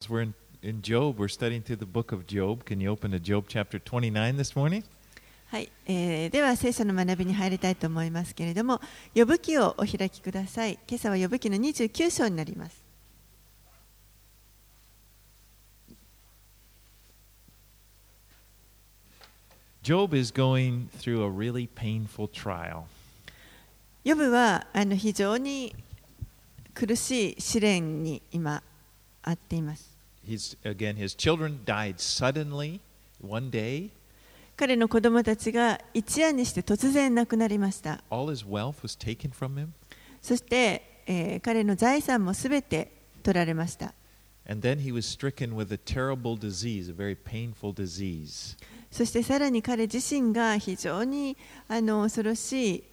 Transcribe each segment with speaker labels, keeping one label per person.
Speaker 1: we're in Job. We're studying through the book of Job. Can you open to Job chapter 29 this morning?
Speaker 2: はい、では聖書の学びに入りたいと思いますけれども、ヨブ記をお開きください。今朝はヨブ記の29章になります。
Speaker 1: Job is going through a really painful trial.
Speaker 2: ヨブは非常に苦しい試練に今あっています。
Speaker 1: His children died suddenly one day.
Speaker 2: 彼の子供たちが一夜にして突然亡くなりました。
Speaker 1: All his wealth was taken from him.
Speaker 2: そして、彼の財産もすべて取られました。
Speaker 1: And then he was stricken with a terrible disease, a very painful disease.
Speaker 2: そしてさらに彼自身が非常に恐ろしい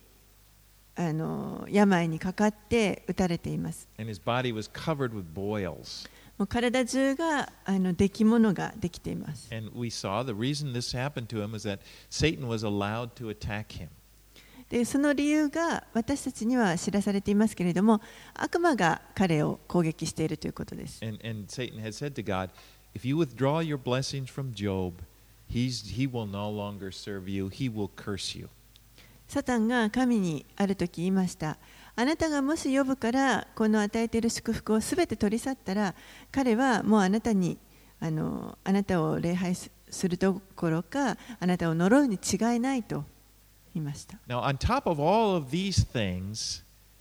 Speaker 2: 病にかかって打たれています。
Speaker 1: And his body was covered with boils.
Speaker 2: もう体中が出来物ができています。
Speaker 1: And we saw the reason this happened to him is that Satan was allowed to attack him.
Speaker 2: でその理由が私たちには知らされていますけれども、悪魔が彼を攻撃しているということです。
Speaker 1: And Satan had said to God, if you withdraw your blessings from Job, he will no longer serve you, he will curse you.
Speaker 2: サタンが神にある時言いました。あなたがもしヨブからこの与えている祝福をすべて取り去ったら、彼はもうあなたを礼拝するどころか、あなたを呪うに違いないと言いました。
Speaker 1: Now, on top of all of these things,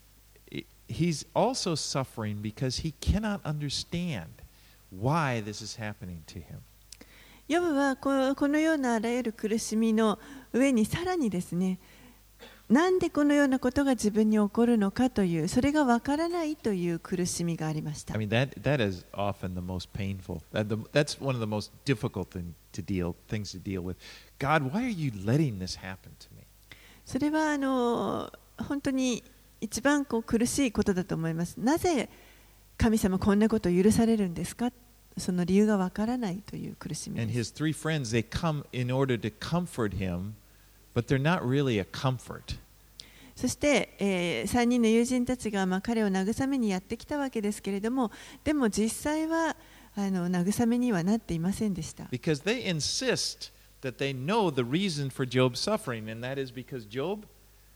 Speaker 1: he's also suffering because he cannot understand why this is happening to him.
Speaker 2: ヨブはこのようなあらゆる苦しみの上にさらにですね、なんでこのようなことが自分に起こるのかという、それがわからないという苦しみがありました。
Speaker 1: I mean, that is often the most painful. That's one of the most difficult things to deal with. God, why are you letting this happen to me?
Speaker 2: それは本当に一番苦しいことだと思います。なぜ神様こんなことを許されるんですか？その理由がわからないという苦しみです。
Speaker 1: And his three friends, they come in order to comfort him, but they're not really a comfort.
Speaker 2: そして、3人の友人たちが彼を慰めにやってきたわけですけれども、でも実際は慰めにはなっていませんでした。
Speaker 1: Because they insist that they know the reason for Job's suffering, and that is because Job,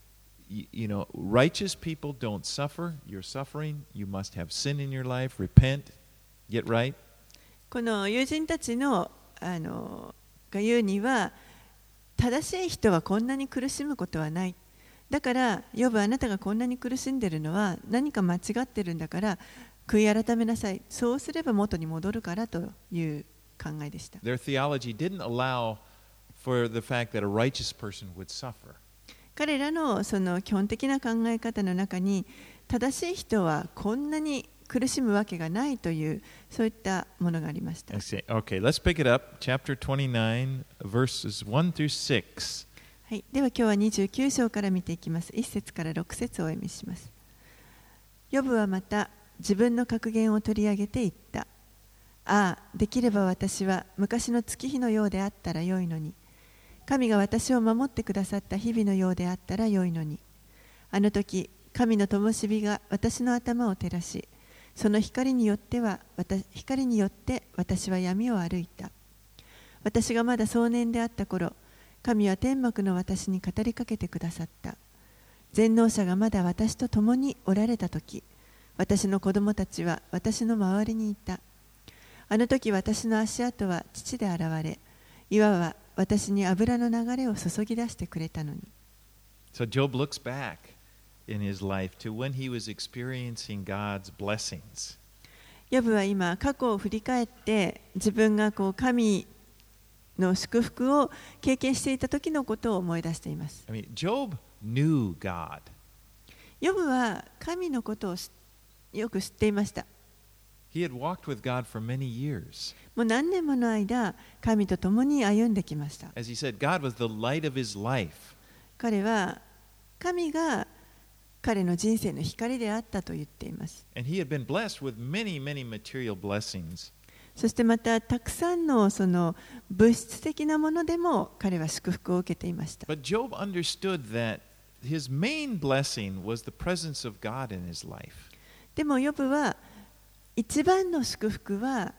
Speaker 1: you know, righteous people don't suffer. You're suffering. You must have sin in your life. Repent. Get right.
Speaker 2: この友人たちのが言うには、正しい人はこんなに苦しむことはない。だから、ヨブあなたがこんなに苦しんでいるのは何か間違ってるんだから悔い改めなさい。そうすれば元に戻るからという考えでした。
Speaker 1: Their theology didn't allow for the fact that a righteous person would suffer.
Speaker 2: 彼らのその基本的な考え方の中に、正しい人はこんなに苦しむわけがないというそういったものがありました。
Speaker 1: Okay, let's pick it up. Chapter 29, verses 1 through 6.
Speaker 2: はい、では今日は29章から見ていきます。1節から6節をお読みします。ヨブはまた自分の格言を取り上げて言った。ああ、できれば私は昔の月日のようであったらよいのに。神が私を守ってくださった日々のようであったらよいのに。あの時、神の灯火が私の頭を照らし、その光によって私は闇を歩いた。私がまだ壮年であった頃、神は天幕の私に語りかけてくださった。全能者がまだ私と共におられたとき、私の子供たちは私の周りにいた。あの時私の足跡は父で現れ、岩は私に油の流れを注ぎ出してくれたのに。
Speaker 1: So Job looks back in his life to when he was experiencing God's blessings.
Speaker 2: ヨブは今過去を振り返って自分が神の祝福を経験していた時のことを思い出しています。
Speaker 1: I mean, Job knew God.
Speaker 2: ヨブは神のことをよく知っていました。
Speaker 1: He had walked with God for many years.
Speaker 2: もう何年もの間、神と共に歩んできました。
Speaker 1: As he said, God was the light of his life.
Speaker 2: 彼は神が彼の人生の光であったと言っています。
Speaker 1: And he had been blessed with many, many material blessings.
Speaker 2: そしてまたたくさんのその物質的なものでも彼は祝福を受けていました。
Speaker 1: But Job understood that his main blessing was the presence of God in his life.
Speaker 2: でもヨブは一番の祝福は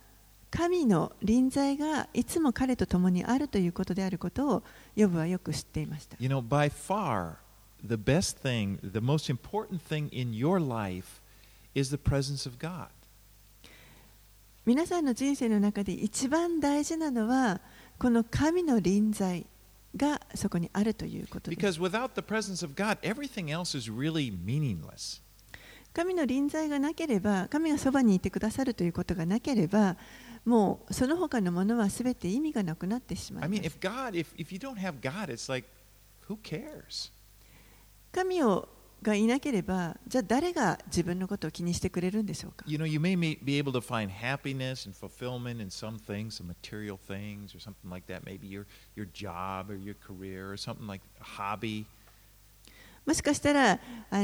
Speaker 2: 神の臨在がいつも彼と共にあるということであることをヨブはよく知っていました。
Speaker 1: You know, by far, the best thing, the most important thing in your life is the presence of God.
Speaker 2: 皆さんの人生の中で一番大事なのはこの神の臨在がそこにあるということです。
Speaker 1: Because without the presence of God, everything else is really meaningless.
Speaker 2: 神の臨在がなければ、神がそばにいてくださるということがなければ、もうその他のものはすべて意味がなくなってしまい
Speaker 1: I
Speaker 2: ま
Speaker 1: mean,
Speaker 2: す。
Speaker 1: if you don't have God, it's like, who cares?
Speaker 2: 神がいなければ、じゃあ誰が自分のことを気にしてくれるんでしょうか。
Speaker 1: You know, you may be able to find happiness and fulfillment in some things, some material things or something like that. Maybe your job or your career or something like a hobby.
Speaker 2: もしかしたら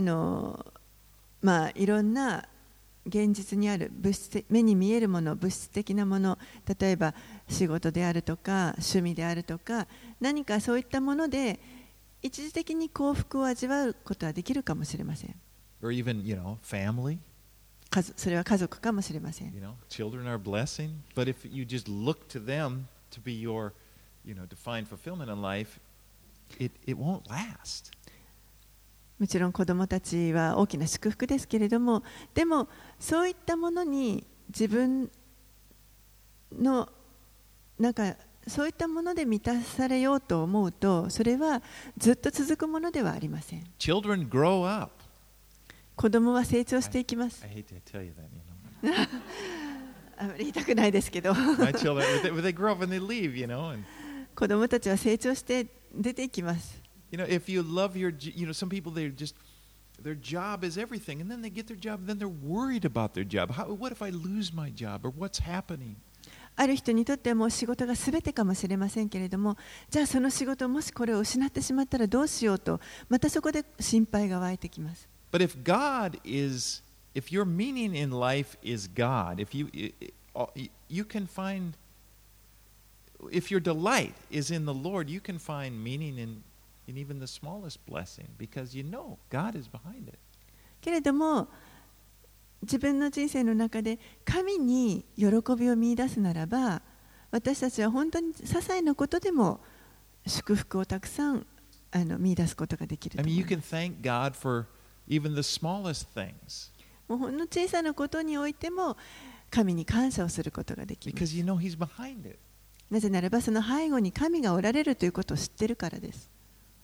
Speaker 2: いろんな現実にある目に見えるもの、物質的なもの、例えば仕事であるとか趣味であるとか、何かそういったもので一時的に幸福を味わうことはできるかもしれません。
Speaker 1: Or even, family.
Speaker 2: それは家族かもしれません。
Speaker 1: Children are a blessing. But if you just look to them to be your, to find fulfillment in life, it won't last.
Speaker 2: もちろん子どもたちは大きな祝福ですけれども、でもそういったものに自分のそういったもので満たされようと思うと、それはずっと続くものではありません。
Speaker 1: Children grow up.
Speaker 2: 子供は成長していきます。
Speaker 1: I hate to tell you that,
Speaker 2: あまり言いたくないですけど
Speaker 1: My children, they grow up and they leave, and
Speaker 2: 子供たちは成長して出ていきます。
Speaker 1: if you love some people, their job is everything, and then they get their job, and then they're worried about their job. What if I lose my job, or what's happening?
Speaker 2: ある人にとってはもう仕事が全てかもしれませんけれども、じゃあその仕事、もしこれを失ってしまったらどうしようと、またそこで心配が湧いてきます。
Speaker 1: But if your meaning in life is God, if you can find, if your delight is in the Lord, you can find meaning in even the smallest blessing, because God is behind it.
Speaker 2: けれども自分の人生の中で神に喜びを見出すならば、私たちは本当に些細なことでも祝福をたくさん見出すことができると
Speaker 1: I
Speaker 2: 思
Speaker 1: mean,
Speaker 2: い
Speaker 1: you
Speaker 2: ます。
Speaker 1: can thank God for even the smallest things,
Speaker 2: もうほんの小さなことにおいても神に感謝をすることができます。
Speaker 1: because He's behind it.
Speaker 2: なぜならばその背後に神がおられるということを知っているからです。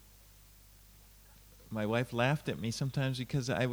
Speaker 1: My wife laughed at me sometimes because I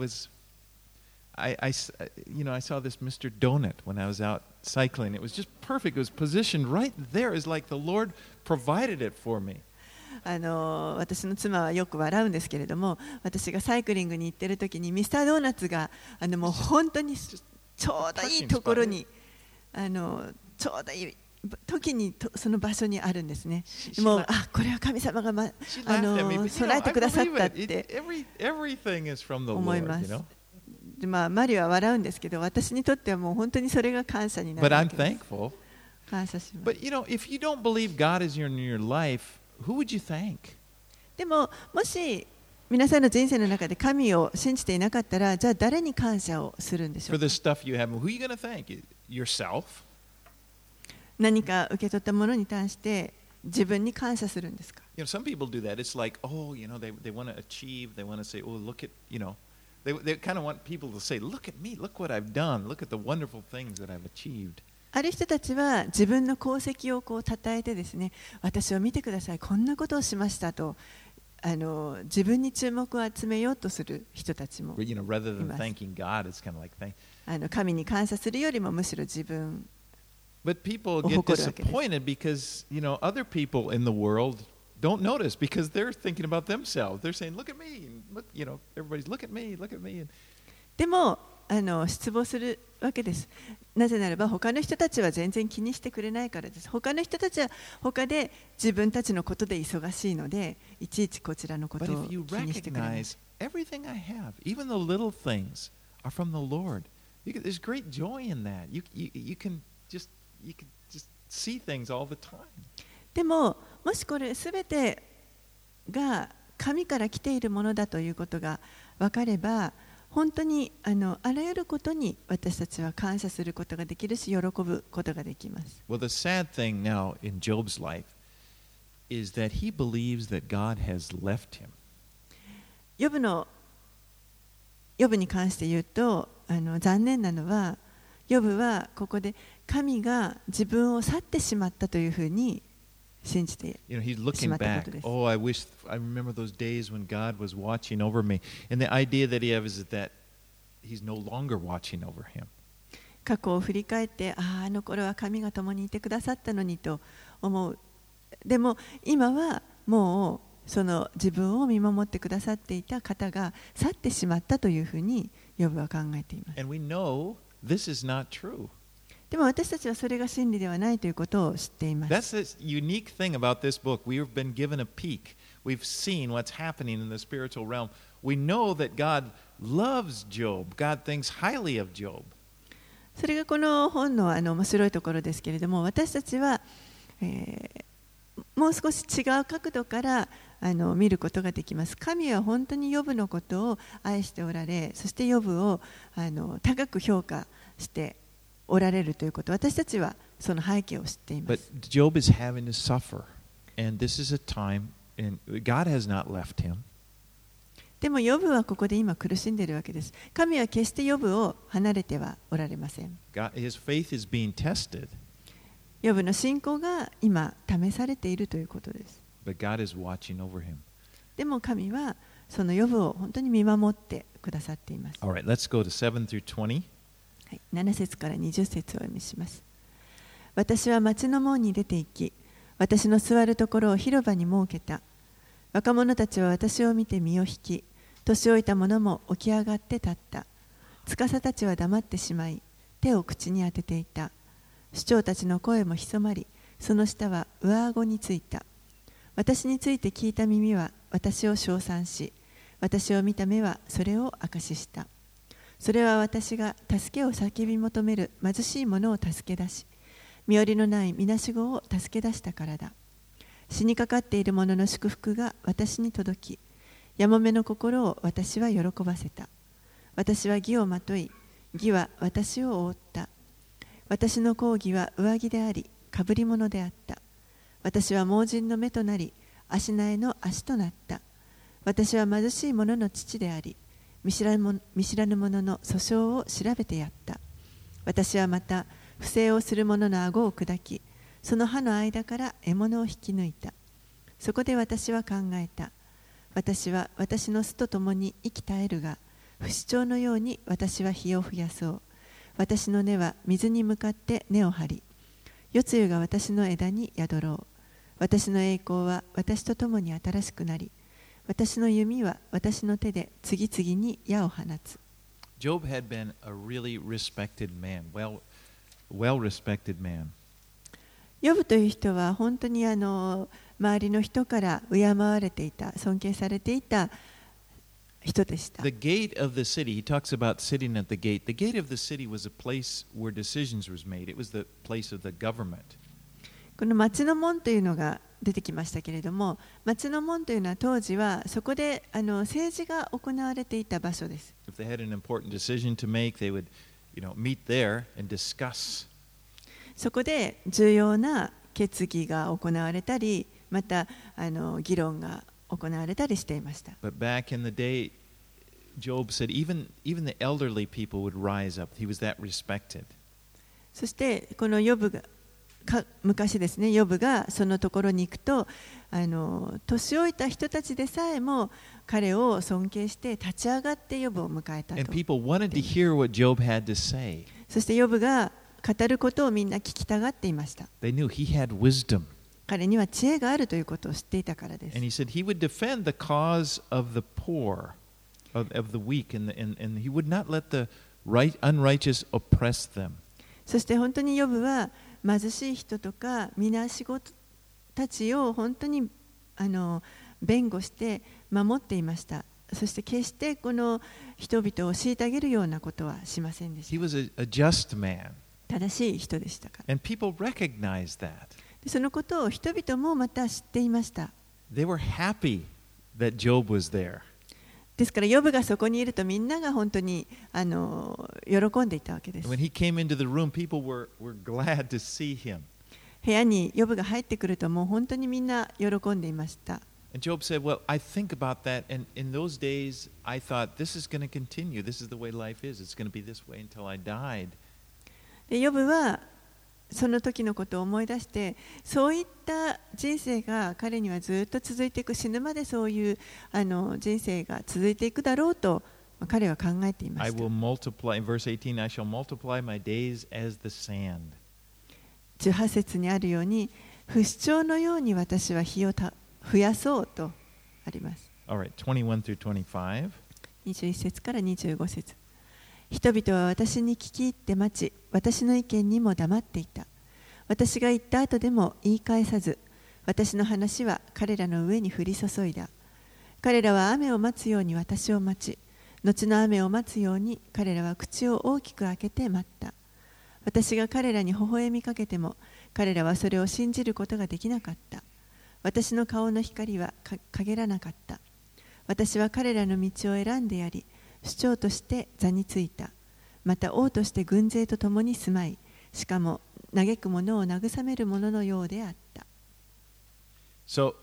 Speaker 1: saw this Mr. Donut when I was out cycling. It was just perfect. It was positioned right there. It's like the Lord provided it for me.
Speaker 2: 私の妻はよく笑うんですけれども、私がサイクリングに行っている時にミスタードーナツがもう本当にちょうどいいところにちょうどいい時にその場所にあるんですね。もうこれは神様が、備えてくださったって思います。マリは笑うんですけど、私にとってはもう本当にそれが感謝になるわけです。感謝します。
Speaker 1: But if you don't believe God is in your life, who would you thank?
Speaker 2: でももし皆さんの人生の中で神を信じていなかったら、じゃあ誰に感謝をするんでしょう
Speaker 1: For
Speaker 2: か。
Speaker 1: the stuff you have, who are you going to thank? Yourself?
Speaker 2: 何か受け取ったものに対して自分に感謝するんですか。
Speaker 1: Some people do that. It's like, they want to achieve. They want to say, look at, they kind of want people to say, look at me, look what I've done, look at the wonderful things that I've achieved.
Speaker 2: ある人たちは自分の功績を称えてですね、私を見てください、こんなことをしましたと自分に注目を集めようとする人たちもい
Speaker 1: Rather than
Speaker 2: ます。
Speaker 1: thanking God, it's kind of like
Speaker 2: 神に感謝するよりもむしろ自分
Speaker 1: But people get disappointed because, other people in the world don't notice because they're thinking about themselves. They're saying, look at me. Look, everybody's look at me, look at me.
Speaker 2: でも失望するわけです。なぜならば他の人たちは全然気にしてくれないからです。他の人たちは他で自分たちのことで忙しいので、いちいちこちらのことを気にしてくれない。
Speaker 1: Everything I have, even the little things, are from the Lord. There's great joy in that. You can just see things all the time.
Speaker 2: でも、もしこれすべてが神から来ているものだということが分かれば、 本当にあらゆることに私たちは感謝することができるし、喜ぶことができます。
Speaker 1: Well, the sad thing now in Job's life is that he believes that God has left him.
Speaker 2: ヨブに関して言うと、残念なのは、ヨブはここで神が自分を去ってしまったというふうに信じて
Speaker 1: He's
Speaker 2: し
Speaker 1: looking
Speaker 2: まったこ
Speaker 1: back.
Speaker 2: とです。
Speaker 1: Oh, I remember those days when God was watching over me. And the idea that he has is that he's no longer watching over him.
Speaker 2: 過去を振り返って、あの頃は神が共にいてくださったのにと思う。でも今はもうその自分を見守ってくださっていた方が去ってしまったというふうにヨブは考えています。
Speaker 1: And we know this is not true.
Speaker 2: でも私たちはそれが真理ではないということを知っています。
Speaker 1: That's the unique thing about this book. We've been given a peek. We've seen what's happening in the spiritual realm. We know that God loves Job. God thinks highly of Job.
Speaker 2: それがこの本の面白いところですけれども、私たちは、もう少し違う角度から見ることができます。神は本当にヨブのことを愛しておられ、そしてヨブを高く評価しておられるということ、私たちはその背景を知っていま
Speaker 1: But
Speaker 2: す。
Speaker 1: Job is having to suffer. And this is a time, and God has not left him.
Speaker 2: でもヨブはここで今苦しんでいるわけです。神は決してヨブを離れてはおられません。
Speaker 1: His faith is being tested,
Speaker 2: ヨブの信仰が今試されているということです。
Speaker 1: but God is watching over him.
Speaker 2: でも神はそのヨブを本当に見守ってくださっています。
Speaker 1: All right, let's go to 7 through 20.
Speaker 2: はい、7節から20節をお読みします。私は町の門に出て行き、私の座るところを広場に設けた。若者たちは私を見て身を引き、年老いた者も起き上がって立った。司たちは黙ってしまい、手を口に当てていた。首長たちの声も潜まり、その下は上顎についた。私について聞いた耳は私を称賛し、私を見た目はそれを証しした。それは私が助けを叫び求める貧しい者を助け出し、身寄りのないみなしごを助け出したからだ。死にかかっている者の祝福が私に届き、やもめの心を私は喜ばせた。私は義をまとい、義は私を覆った。私の講義は上着であり、かぶり物であった。私は盲人の目となり、足苗の足となった。私は貧しい者の父であり、見知らぬ者の訴訟を調べてやった。私はまた、不正をする者の顎を砕き、その歯の間から獲物を引き抜いた。そこで私は考えた。私は私の巣と共に生き絶えるが、不死鳥のように私は火を増やそう。私の根は水に向かって根を張り、夜露が私の枝に宿ろう。私の栄光は私と共に新しくなり、私の弓は私の手で次々に矢を放つ。
Speaker 1: Job had been a really respected man, well-respected man.
Speaker 2: ヨブという人は本当に周りの人から敬われていた、尊敬されていた人でした。
Speaker 1: The gate of the city, he talks about sitting at the gate. The gate of the city was a place where decisions was made. It was the place of the government.
Speaker 2: この町の門というのが出てきましたけれども、町の門というのは当時はそこで政治が行われていた場所です。
Speaker 1: If they had an important decision to make, they would, meet there and discuss.
Speaker 2: そこで重要な決議が行われたり、また議論が行われたりしていました。
Speaker 1: But back in the day, Job said even the elderly people would rise up. He was that respected.
Speaker 2: そしてこのヨブが昔ですね、ヨブがそのところに行くと、年老いた人たちでさえも彼を尊敬して立ち上がってヨブを迎えた
Speaker 1: And
Speaker 2: と。
Speaker 1: people wanted to hear what Job had to say.
Speaker 2: そしてヨブが語ることをみんな聞きたがっていました。
Speaker 1: They knew he had wisdom.
Speaker 2: 彼には知恵があるということを知っていたからです。
Speaker 1: And he said he would defend the cause of the poor, of the weak, and he would not let the unrighteous oppress them.
Speaker 2: そして本当にヨブは貧しい人とかみなしごたちを本当に弁護して守っていました。そして決してこの人々を虐げるようなことはしませんでし
Speaker 1: He
Speaker 2: た。
Speaker 1: was a just man.
Speaker 2: 正しい人でしたから。
Speaker 1: And people recognized that.
Speaker 2: でそのことを人々もまた知っていました。
Speaker 1: They were happy that Job was there.
Speaker 2: ですから、ヨブがそこにいるとみんなが本当に喜んでいたわけです。
Speaker 1: When he came into the room, people were glad to see him.
Speaker 2: 部屋にヨブが入ってくると、もう本当にみんな喜んでいました。
Speaker 1: And Job said, Well, I think about that, and in those days, I thought, this is going to continue. This is the way life is. It's going to be this way until I died.
Speaker 2: でヨブはその時のことを思い出して、そういった人生が彼にはずっと続いていく、死ぬまでそういう人生が続いていくだろうと彼は考えていま
Speaker 1: I
Speaker 2: した。
Speaker 1: will multiply, in verse 18, I shall multiply my days as the sand.
Speaker 2: 18節にあるように、不死鳥のように私は日を増やそうとあります。
Speaker 1: All right, 21 through 25.
Speaker 2: 21節から25節。人々は私に聞き入って待ち、私の意見にも黙っていた。私が言った後でも言い返さず、私の話は彼らの上に降り注いだ。彼らは雨を待つように私を待ち、後の雨を待つように彼らは口を大きく開けて待った。私が彼らに微笑みかけても、彼らはそれを信じることができなかった。私の顔の光は陰らなかった。私は彼らの道を選んでやり、首長として座についた。また王として軍勢と共に住まい、しかも嘆く者を慰める者のようであった。
Speaker 1: So,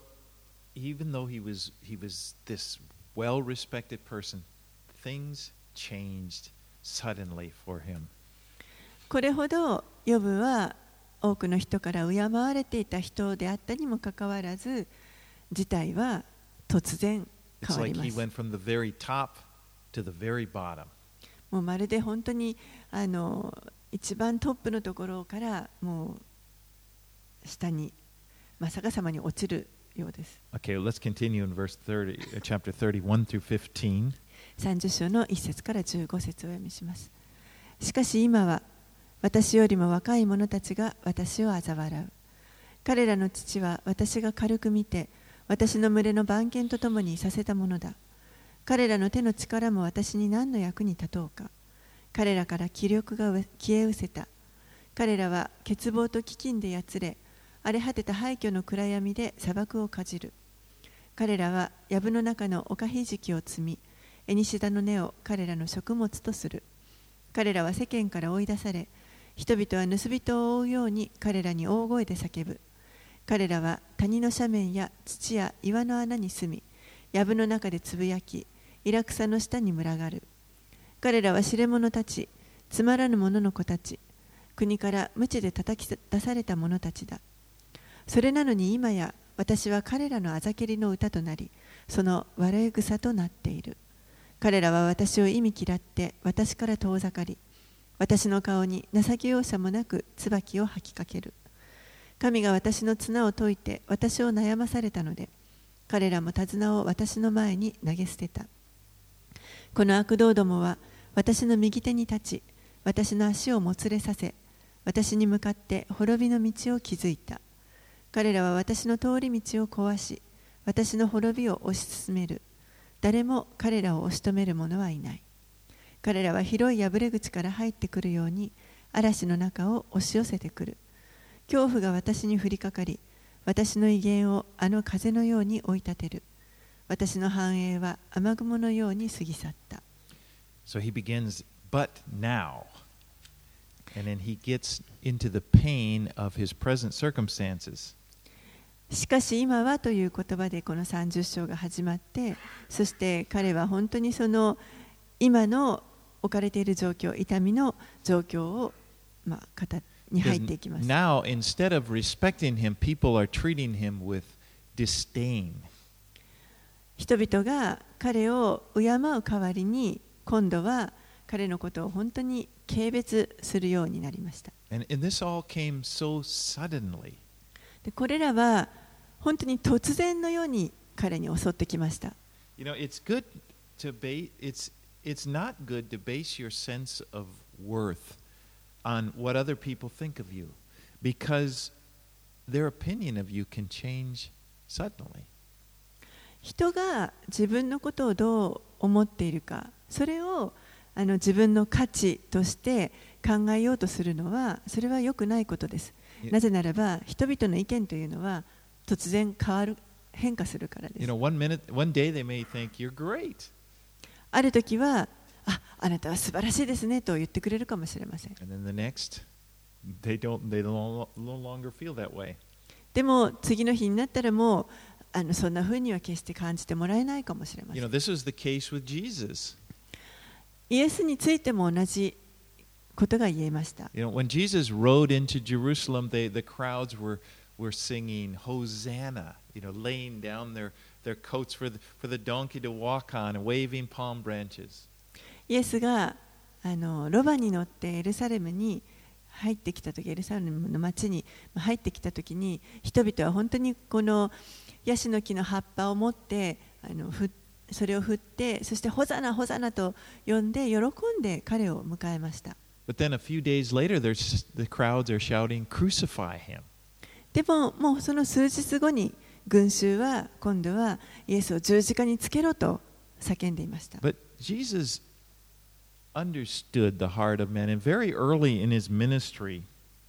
Speaker 1: even though he was this well-respected person, things changed suddenly for him.
Speaker 2: これほどヨブは多くの人から敬われていた人であったにもかかわらず、事態は突然変
Speaker 1: It's
Speaker 2: わり
Speaker 1: like
Speaker 2: ま
Speaker 1: he
Speaker 2: す。
Speaker 1: went from the very top to the very bottom.
Speaker 2: もうまるで本当に一番トップのところからもう下に真っ逆さまに落ちるようです。
Speaker 1: Okay, let's continue in verse 30, chapter 31 through 15.
Speaker 2: 30章の1節から15節をお読みします。しかし今は私よりも若い者たちが私を嘲笑う。彼らの父は私が軽く見て、私の群れの番犬と共にさせたものだ。彼らの手の力も私に何の役に立とうか。彼らから気力が消え失せた。彼らは欠乏と飢饉でやつれ、荒れ果てた廃墟の暗闇で砂漠をかじる。彼らは藪の中のおかひじきを摘み、エニシダの根を彼らの食物とする。彼らは世間から追い出され、人々は盗人を追うように彼らに大声で叫ぶ。彼らは谷の斜面や土や岩の穴に住み、藪の中でつぶやき、イラクサの下に群がる。彼らは知れ者たち、つまらぬ者の子たち、国から無知で叩き出された者たちだ。それなのに今や私は彼らのあざけりの歌となり、その笑い草となっている。彼らは私を忌み嫌って私から遠ざかり、私の顔に情け容赦もなく椿を吐きかける。神が私の綱を解いて私を悩まされたので、彼らも手綱を私の前に投げ捨てた。この悪道どもは私の右手に立ち、私の足をもつれさせ、私に向かって滅びの道を築いた。彼らは私の通り道を壊し、私の滅びを推し進める。誰も彼らを押し止める者はいない。彼らは広い破れ口から入ってくるように嵐の中を押し寄せてくる。恐怖が私に降りかかり、私の威厳をあの風のように追い立てる。私の繁栄は雨雲のように過ぎ去った。
Speaker 1: So he begins, but now. And then he gets into the pain of his present circumstances.
Speaker 2: しかし今はという言葉でこの30章が始まって、そして彼は本当にその今の置かれている状況、痛みの状況を型に入っていきます。
Speaker 1: Now, instead of respecting him, people are treating him with disdain.
Speaker 2: 人々が彼を敬う代わりに、今度は彼のことを本当に軽蔑するようになりました。
Speaker 1: And this all came so suddenly.
Speaker 2: でこれらは本当に突然のように彼に襲ってきました。
Speaker 1: You know, it's good to it's not good to base your sense of worth on what other people think of you, because their opinion of you can change suddenly.
Speaker 2: 人が自分のことをどう思っているか、それを自分の価値として考えようとするのは、それは良くないことです。なぜならば、人々の意見というのは突然変化するからです。
Speaker 1: You know, one day they may think you're great.
Speaker 2: ある時は、あなたは素晴らしいですねと言ってくれるかもしれません。
Speaker 1: And then the next, they no longer feel that way.
Speaker 2: でも次の日になったらもうそんな風には決して感じてもらえないかもしれません。
Speaker 1: This was the case with Jesus.
Speaker 2: イエスについても同じことが言えました。
Speaker 1: When Jesus rode into Jerusalem, the crowds were singing Hosanna, laying down their coats for the donkey to walk on and waving palm branches.
Speaker 2: イエスがロバに乗ってエルサレムに入ってきたとき、エルサレムの町に入ってきたときに、人々は本当にこのヤシの木の葉っぱを持ってそれを振って、そしてホザナホザナと呼んで喜んで彼を迎えました。
Speaker 1: But then a few days later, the crowds are shouting, "Crucify him!"
Speaker 2: でももうその数日後に群衆は今度はイエスを十字架につけろと叫んでいました。
Speaker 1: But Jesus understood the heart of man, and very early in his ministry,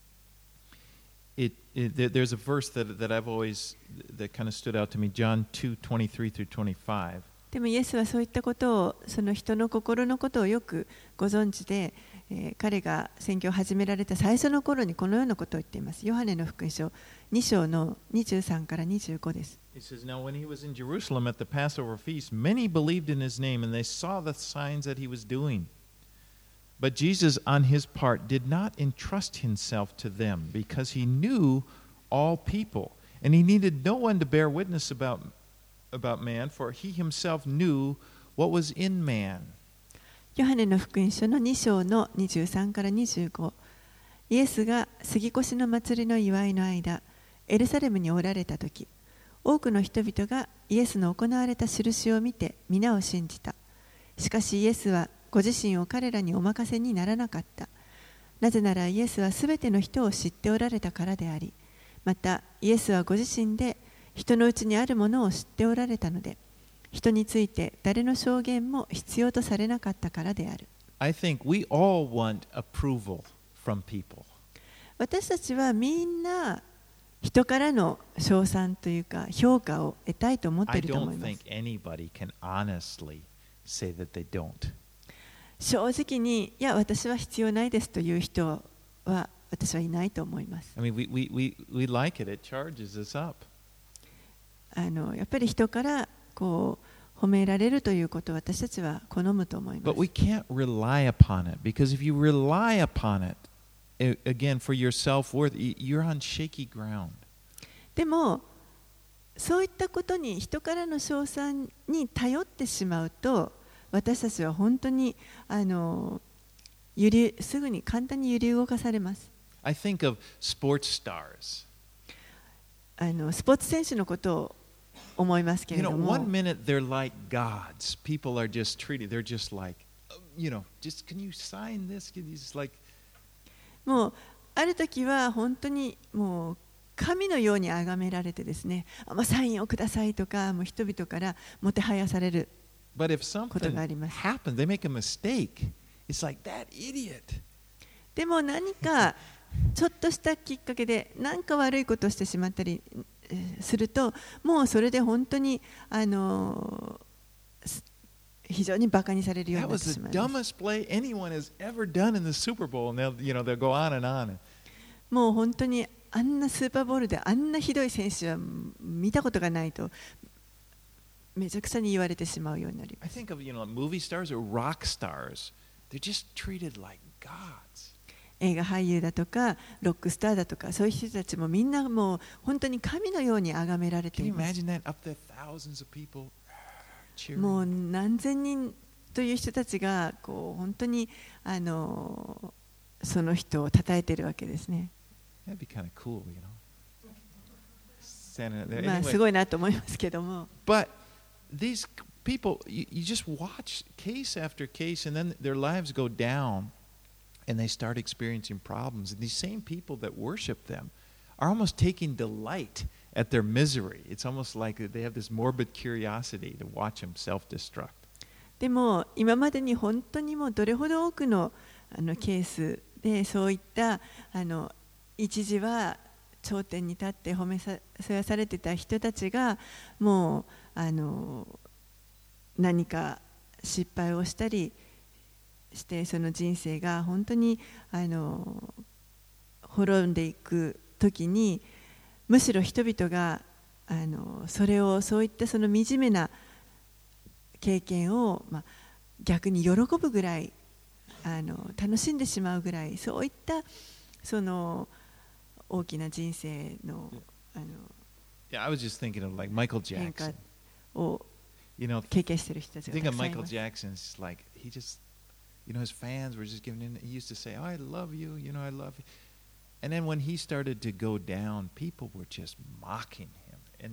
Speaker 1: there's a verse that I've always that kind of stood out to me, John 2:23 through 25.
Speaker 2: でもイエスはそういったことを、その人の心のことをよくご存知で、彼が宣教を始められた最初の頃にこのようなことを言っています。ヨハネの福音書2章の23から25です。
Speaker 1: He says, "Now when he was in Jerusalem at the Passover feast, many believed in his name, and they saw the signs that he was doing. But Jesus, on his part, did not entrust himself to them, because he knew all people, and he needed no one to bear witness about man, for he himself knew what was in man."
Speaker 2: ヨハネの福音書の2章の23から25、イエスが杉越の祭りの祝いの間、エルサレムにおられたとき、多くの人々がイエスの行われた印を見て皆を信じた。しかしイエスはご自身を彼らにお任せにならなかった。なぜならイエスはすべての人を知っておられたからであり、またイエスはご自身で人のうちにあるものを知っておられたので、人について誰の証言も必要とされなかったからである。
Speaker 1: I think we all want approval from people.
Speaker 2: 私たちはみんな人からの称賛というか評価を得たいと思ってい
Speaker 1: I
Speaker 2: ると思い
Speaker 1: don't
Speaker 2: ま
Speaker 1: think
Speaker 2: す。
Speaker 1: anybody can honestly say that they don't.
Speaker 2: 正直に、いや、私は必要ないですという人は私はいないと思います。
Speaker 1: I mean, we like it. It charges us up.
Speaker 2: やっぱり人からこう褒められるということを私たちは好むと思いま
Speaker 1: But we
Speaker 2: す。
Speaker 1: can't rely upon it, because if you rely upon it, again, for your self-worth, you're on shaky ground.
Speaker 2: でもそういったことに人からの称賛に頼ってしまうと、私たちは本当にすぐに簡単に揺り動かされます。
Speaker 1: I think of sports stars.
Speaker 2: スポーツ選手のことを思いますけれども、
Speaker 1: one minute they're like gods. People are just treated. They're just like, just can you sign this? Just like,
Speaker 2: もうある時は本当にもう神のように崇められてですね、サインをくださいとか、もう人々からもてはやされる
Speaker 1: but if
Speaker 2: こと
Speaker 1: something
Speaker 2: があります。
Speaker 1: happens, they make a mistake. It's like that idiot.
Speaker 2: でも何かちょっとしたきっかけで何か悪いことをしてしまったりすると、もうそれで本当に非常にバカにされるよう
Speaker 1: That
Speaker 2: になって
Speaker 1: was
Speaker 2: し
Speaker 1: the
Speaker 2: まいます。
Speaker 1: dumbest play anyone has ever done in the Super Bowl, and they'll go on and on.
Speaker 2: もう本当にあんなスーパーボールであんなひどい選手は見たことがないとめちゃくちゃに言われてしまうようになりま
Speaker 1: I
Speaker 2: す。
Speaker 1: think of movie stars or rock stars. They're just treated like gods.
Speaker 2: 映画俳優だとかロックスターだとか、そういう人たちもみんなもう本当に神のように崇められて
Speaker 1: Can
Speaker 2: い
Speaker 1: you
Speaker 2: ます。
Speaker 1: imagine that? Up there, thousands of people
Speaker 2: もう
Speaker 1: cheering.
Speaker 2: 何千人という人たちがこう本当にその人を称えているわけですね。
Speaker 1: That'd be kind of cool, Standing there.
Speaker 2: まあ
Speaker 1: Anyway,
Speaker 2: すごいなと思いますけども、
Speaker 1: but these people, you just watch case after case, and then their lives go down, and they start experiencing problems. And these same people that worship them are almost taking delight at their misery. It's almost like they have this morbid curiosity to watch them self-destruct.
Speaker 2: でも今までに本当にもうどれほど多くのケースでそういった一時は頂点に立って褒めそやされてた人たちがもう何か失敗をしたりしてその人生が本当に滅んでいく時にむしろ人々がそういったその惨めな経験を、逆に喜ぶぐらい楽しんでしまうぐらいそういったその大きな人生の
Speaker 1: Yeah, I was just thinking of like Michael
Speaker 2: 変化
Speaker 1: Jackson.
Speaker 2: を
Speaker 1: You know,
Speaker 2: 経験している人たちが
Speaker 1: think
Speaker 2: た
Speaker 1: of
Speaker 2: くさんい
Speaker 1: Michael
Speaker 2: ます。
Speaker 1: Jackson. It's like he just, his fans were just giving in. He used to say, "Oh, I love you. I love you." And then when he started to go down, people were just mocking him, and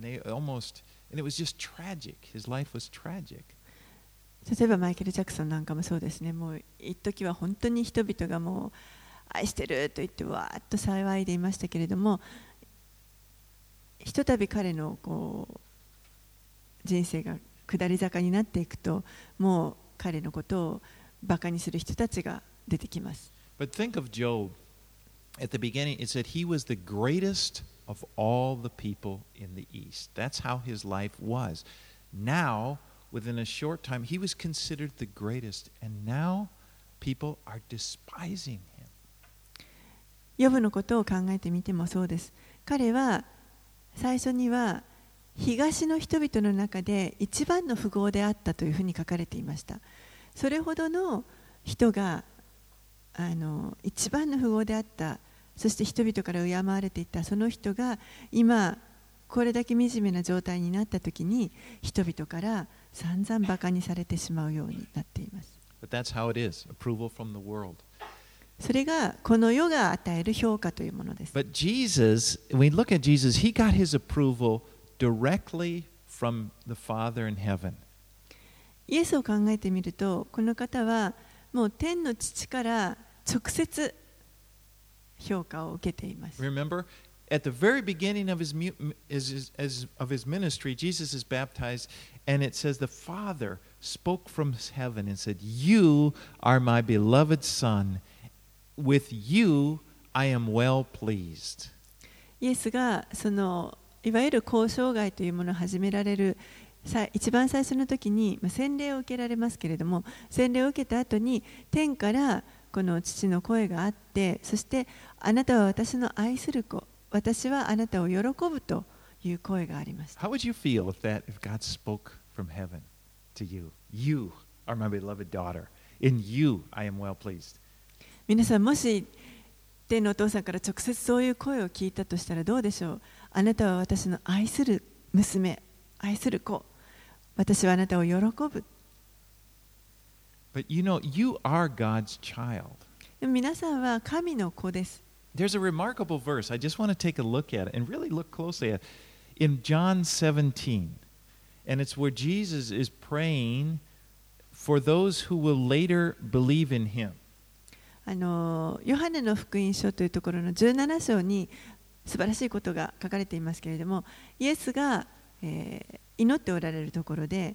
Speaker 1: it was just tragic. His life was tragic.
Speaker 2: 例えばマイケル・ジャクソンなんかもそうですね。もう一時は本当に人々がもう愛してると言ってわーっと騒いでいましたけれども、ひとたび彼の人生が下り坂になっていくと、もう彼のことをバカにする人たちが出てきます。
Speaker 1: But think of Job. At the beginning, it said he was the greatest of all the people in the East. That's how his life was. Now, within a short time, he was considered the greatest, and now people are despising him.
Speaker 2: ヨブのことを考えてみてもそうです。彼は最初には東の人々の中で一番の富豪であったというふうに書かれていました。それほどの人が一番の富豪であった、そして人々から敬われていたその人が今これだけ惨めな状態になったときに人々から散々バカにされてしまうようになっています。
Speaker 1: But that's how it is, approval from the world.
Speaker 2: それがこの世が与える評価というものです。
Speaker 1: But Jesus, when we look at Jesus, he got his approval directly from the Father in heaven.
Speaker 2: イエスを考えてみると、この方はもう天の父から直接評価を受けています。
Speaker 1: Remember, at the very beginning of his ministry, Jesus is baptized, and it says the Father spoke from heaven and said, "You are my beloved Son. With you I am well pleased."
Speaker 2: イエスがいわゆる交渉外というものを始められる一番最初の時に洗礼を受けられますけれども、洗礼を受けた後に天からこの父の声があって、そしてあなたは私の愛する子、私はあなたを喜ぶという声がありました。
Speaker 1: How would you feel if God spoke from heaven to you? You are my beloved daughter. In you I am well pleased.
Speaker 2: 皆さん、もし天のお父さんから直接そういう声を聞いたとしたらどうでしょう。あなたは私の愛する娘、愛する子、私はあなたを喜ぶ。
Speaker 1: But you are God's child.
Speaker 2: でも皆さんは神の子です。
Speaker 1: There's a remarkable verse. I just want to take a look at it and really look closely at it. In John 17, and it's where Jesus is praying for those who will later believe in him.
Speaker 2: ヨハネの福音書というところの17章に素晴らしいことが書かれていますけれども、イエスが、祈っておられるところで、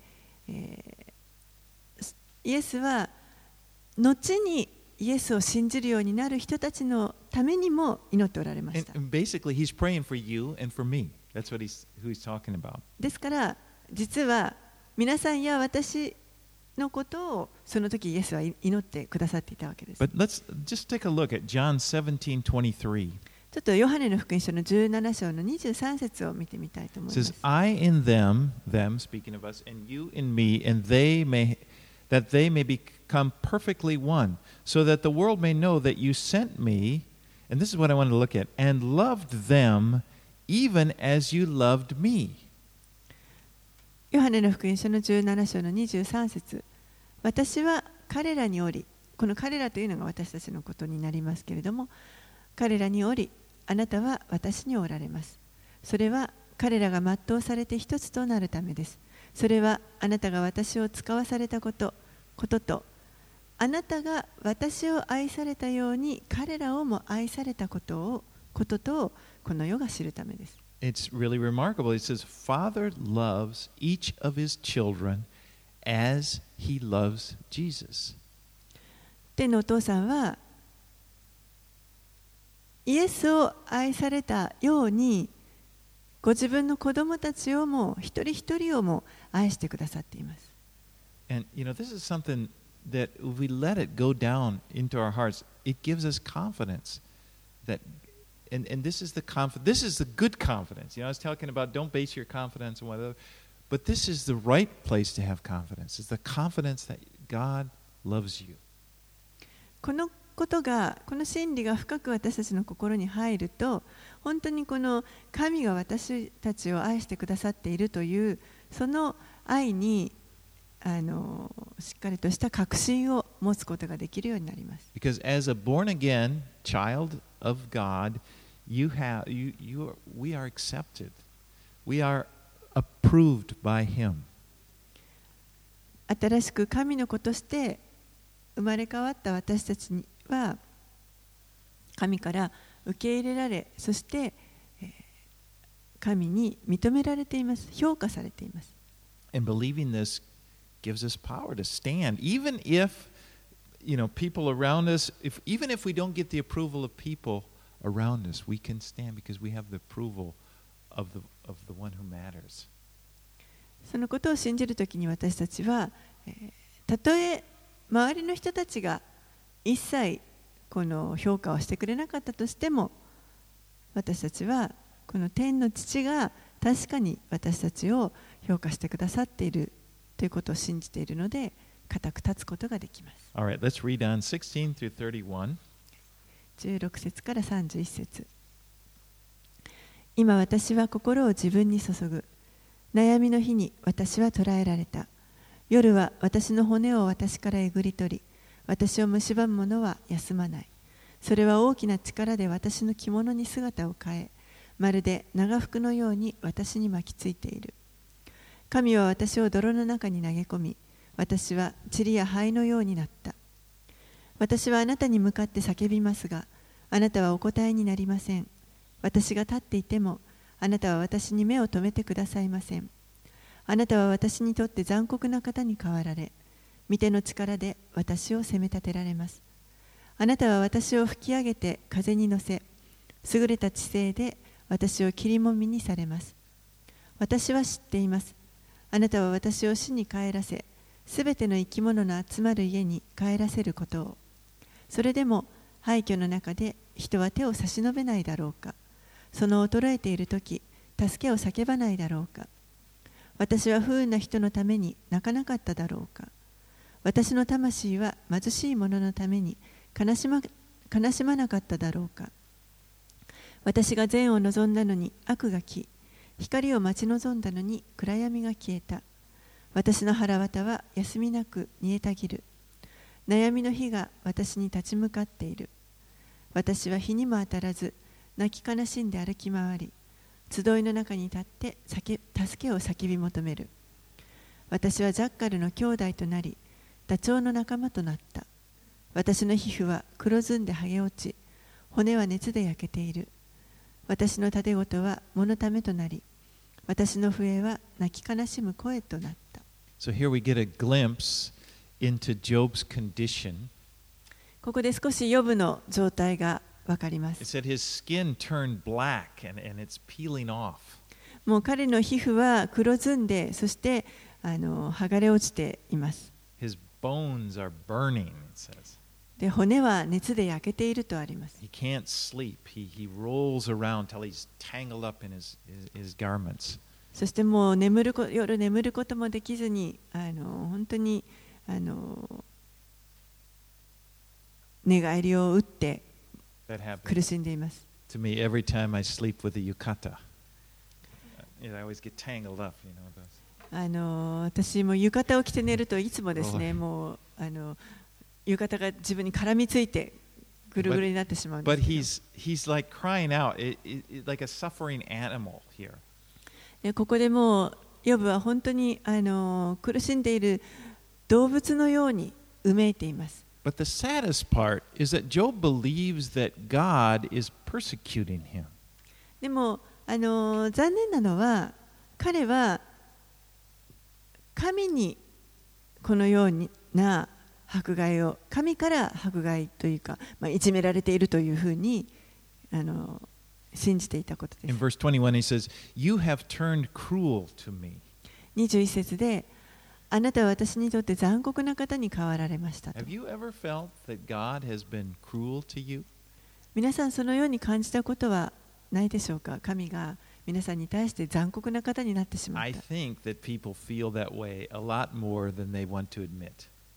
Speaker 2: イエスは後にイエスを信じるようになる人たちのためにも祈っておられました。
Speaker 1: And basically, he's praying for you and for me. That's who he's talking about.
Speaker 2: ですから実は皆さんや私のことをその時イエスは祈ってくださっていたわけです。
Speaker 1: But let's just take a look at John 17:23.
Speaker 2: ちょっとヨハネの福音書の17章の23節を見てみたいと思い
Speaker 1: It
Speaker 2: ま
Speaker 1: says,
Speaker 2: す。
Speaker 1: I in them, speaking of us, and you in me, and that they may become perfectly one, so that the world may know that you sent me, and this is what I wanted to look at, and loved them even as you loved me.
Speaker 2: ヨハネの福音書の17章の23節、私は彼らにおり、この彼らというのが私たちのことになりますけれども、彼らにおり、あなたは私におられます。それは彼らが全うされて一つとなるためです。それはあなたが私を使わされたことと、あなたが私を愛されたように彼らをも愛されたこととこの世が知るためです。
Speaker 1: It's really remarkable. It says, Father loves each of his children as he loves Jesus.
Speaker 2: 天のお父さんはイエスを愛されたようにご自分の子供たちをも一人一人をも愛してくださっています。
Speaker 1: And this is something that if we let it go down into our hearts, it gives us confidence that and this is the good confidence. I was talking about don't base your confidence on whatever, but this is the right place to have confidence. It's the confidence that God loves you.
Speaker 2: この真理が深く私たちの心に入ると、本当にこの神が私たちを愛してくださっているというその愛にしっかりとした確信を持つことができるようになります。
Speaker 1: Because as a born again child of God, we are accepted. We are approved by Him.
Speaker 2: 新しく神の子として生まれ変わった私たちは神から受け入れられ、そして神に認められています。評価されています。
Speaker 1: And believing this gives us power to stand, even if people around us, even if we don't get the approval of people around us, we can stand because we have the approval of the one who matters.
Speaker 2: そのことを信じるときに私たちは、たとえ周りの人たちが一切この評価をしてくれなかったとしても、私たちはこの天の父が確かに私たちを評価してくださっているということを信じているので、固く立つことができます。
Speaker 1: All right, let's read on 16 through 31.
Speaker 2: 16節から31節。今私は心を自分に注ぐ。悩みの日に私は捕らえられた。夜は私の骨を私からえぐり取り、私を蝕む者は休まない。それは大きな力で私の着物に姿を変え、まるで長服のように私に巻きついている。神は私を泥の中に投げ込み、私は塵や灰のようになった。私はあなたに向かって叫びますが、あなたはお答えになりません。私が立っていても、あなたは私に目を留めてくださいません。あなたは私にとって残酷な方に変わられ、御手の力で私を責め立てられます。あなたは私を吹き上げて風に乗せ、優れた知性で私を切りもみにされます。私は知っています。あなたは私を死に帰らせ、すべての生き物の集まる家に帰らせることを。それでも廃墟の中で人は手を差し伸べないだろうか。その衰えているとき、助けを叫ばないだろうか。私は不運な人のために泣かなかっただろうか。私の魂は貧しい者のために悲しまなかっただろうか。私が善を望んだのに悪が来、光を待ち望んだのに暗闇が消えた。私の腹渡は休みなく煮えたぎる。悩みの火が私に立ち向かっている。私は日にも当たらず、泣き悲しんで歩き回り、集いの中に立って助けを叫び求める。私はジャッカルの兄弟となり、ダチョウの仲間となった。私の皮膚は黒ずんで剥げ落ち、骨は熱で焼けている。私の盾ごとは物ためとなり、私の笛は泣き悲しむ声となった。
Speaker 1: So here we get a glimpse into Job's condition.
Speaker 2: ここで少しヨブの状態がわかりま
Speaker 1: It
Speaker 2: す。
Speaker 1: said his skin turned black and it's peeling off.
Speaker 2: もう彼の皮膚は黒ずんで、そして剥がれ落ちています。
Speaker 1: His bones are burning, it says.
Speaker 2: で、骨は熱で焼けているとあります。
Speaker 1: He can't sleep. He rolls around till he's tangled up in his garments.
Speaker 2: そしてもう夜眠ることもできずに、本当に寝返りを打って苦しんでいます。
Speaker 1: To me, every time I sleep with a yukata, I always get tangled up, those.
Speaker 2: 私も浴衣を着て寝るといつもですね、もう浴衣が自分に絡みついてぐるぐるになってしまうんですけど。
Speaker 1: But he's like crying out, like a suffering animal here.
Speaker 2: で、ここでもうヨブは本当に苦しんでいる動物のようにうめいています。
Speaker 1: But the saddest part is that Job believes that God is persecuting him.
Speaker 2: でも残念なのは、彼は神にこのような迫害を、神から迫害というか、いじめられているというふうに信じていたことです。
Speaker 1: In verse 21 he says, "You have turned cruel to me."
Speaker 2: 21節で、 あなたは私にとって残酷な方に変わられましたと。
Speaker 1: Have you ever felt that God has been cruel to you?
Speaker 2: 皆さんそのように感じたことはないでしょうか。神が皆さんに対して残酷な方になってしまっ
Speaker 1: I
Speaker 2: た。
Speaker 1: think that people feel that way a lot more than they want to admit.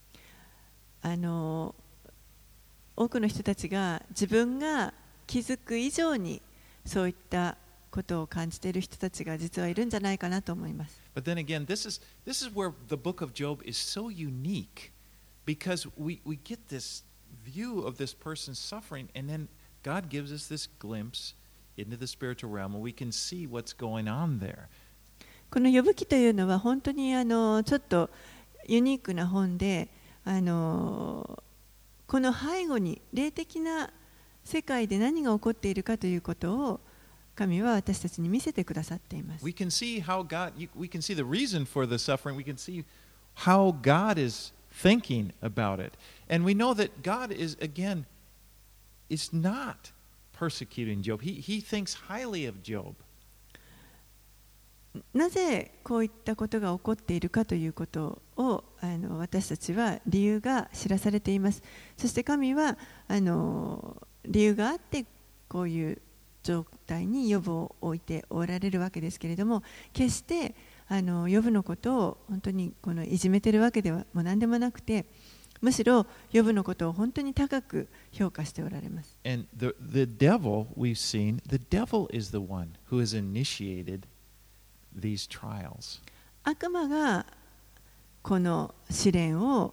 Speaker 2: 多くの人たちが自分が気づく以上にそういったことを感じている人たちが実はいるんじゃないかなと思います。
Speaker 1: But then again, this is where the book of Job is so unique because we get this view of this person's suffering, and then God gives us this glimpse into the spiritual realm, and we can see what's going on there.
Speaker 2: この呼ぶ記というのは本当にちょっとユニークな本で、この背後に霊的な世界で何が起こっているかということを神は私たちに見せてくださっています。
Speaker 1: We can see how we can see the reason for the suffering. We can see how God is thinking about it. And we know that God is not persecuting Job. He thinks highly of Job.
Speaker 2: なぜこういったことが起こっているかということを私たちは理由が知らされています。そして神は理由があってこういう状態にヨブを置いておられるわけですけれども、決してヨブのことを本当にいじめてるわけではもう何でもなくて、むしろヨブのことを本当に高く評価しておられます。
Speaker 1: And the devil, we've seen, the devil is the one who has initiated these trials.
Speaker 2: 悪魔がこの試練を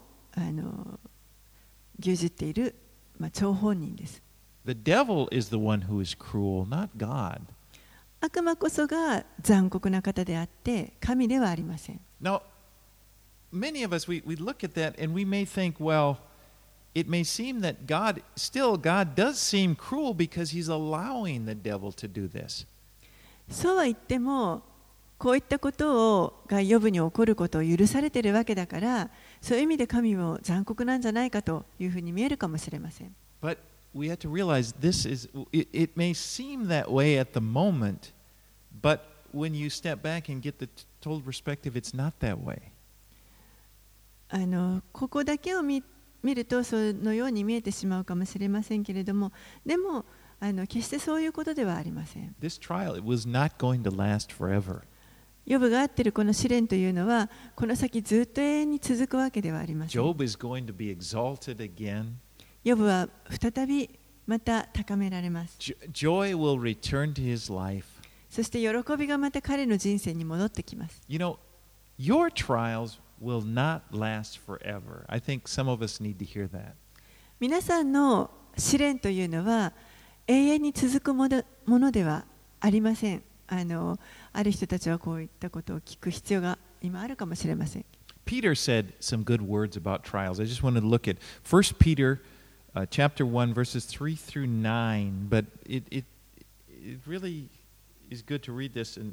Speaker 2: 牛耳っている、張本人です。
Speaker 1: The devil is the one who is cruel, not God.
Speaker 2: 悪魔こそが残酷な方であって神ではありません。
Speaker 1: Now, many of us, we look at that and we may think, well, it may seem that God does seem cruel because he's allowing the devil to do this.
Speaker 2: そうは言っても、こういったことがヨブに起こることを許されているわけだから、そういう意味で神も残酷なんじゃないかというふうに見えるかもしれません。
Speaker 1: But we have to realize it may seem that way at the moment, but when you step back and get the total perspective, it's not that way.
Speaker 2: ここだけを見るとそのように見えてしまうかもしれませんけれども、でも決してそういうことではありません。
Speaker 1: This trial, it was not going to last forever.
Speaker 2: ヨブがあっているこの試練というのは、この先ずっと永遠に続くわけではありません。
Speaker 1: Job is going to be exalted again.
Speaker 2: ヨブは再びまた高められます。
Speaker 1: Joy will return to his life.
Speaker 2: そして喜びがまた彼の人生に戻ってきます。
Speaker 1: You know, your trials will not last forever. I think some of us need to hear that.
Speaker 2: 皆さんの試練というのは永遠に続くものではありません。ある人たちはこういったことを聞く必要が今あるかもしれません。
Speaker 1: Peter said some good words about trials. I just want to look at 1 Peter chapter 1 verses 3 through 9, but it really is good to read this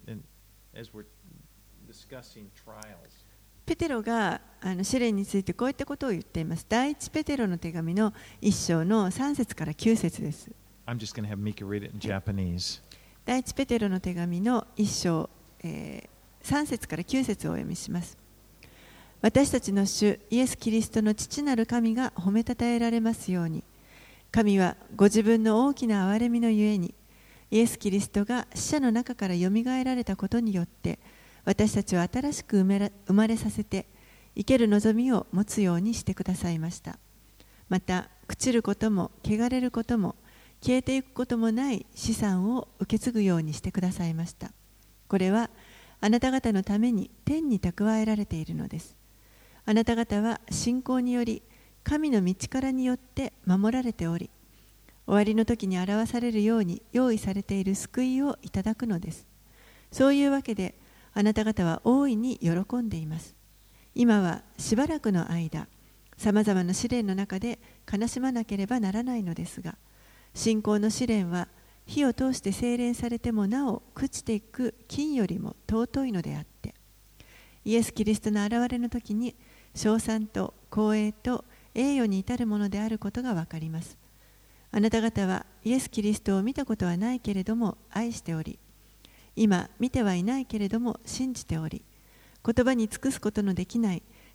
Speaker 1: as we're discussing trials.
Speaker 2: ペテロが試練についてこういったことを言っています。第一ペテロの手紙の1章の3節から9節です。
Speaker 1: I'm just going to have Mika read it in Japanese.
Speaker 2: 第一ペテロの手紙の1章、3節から9節をお読みします。私たちの主イエス・キリストの父なる神が褒めたたえられますように。神はご自分の大きな憐れみのゆえに、イエス・キリストが死者の中からよみがえられたことによって、私たちを新しく生まれさせて、生ける望みを持つようにしてくださいました。また、朽ちることも、汚れることも、消えていくこともない資産を受け継ぐようにしてくださいました。これはあなた方のために天に蓄えられているのです。あなた方は信仰により神の道からによって守られており、終わりの時に表されるように用意されている救いをいただくのです。そういうわけであなた方は大いに喜んでいます。今はしばらくの間、さまざまな試練の中で悲しまなければならないのですが、信仰の試練は火を通して精錬されてもなお朽ちていく金よりも尊いのであって、イエス・キリストの現れの時に称賛と光栄と栄誉に至るものであることがわかります。あなた方はイエス・キリストを見たことはないけれども愛しており、今見てはいないけれども信じており、言葉に尽くすことのできない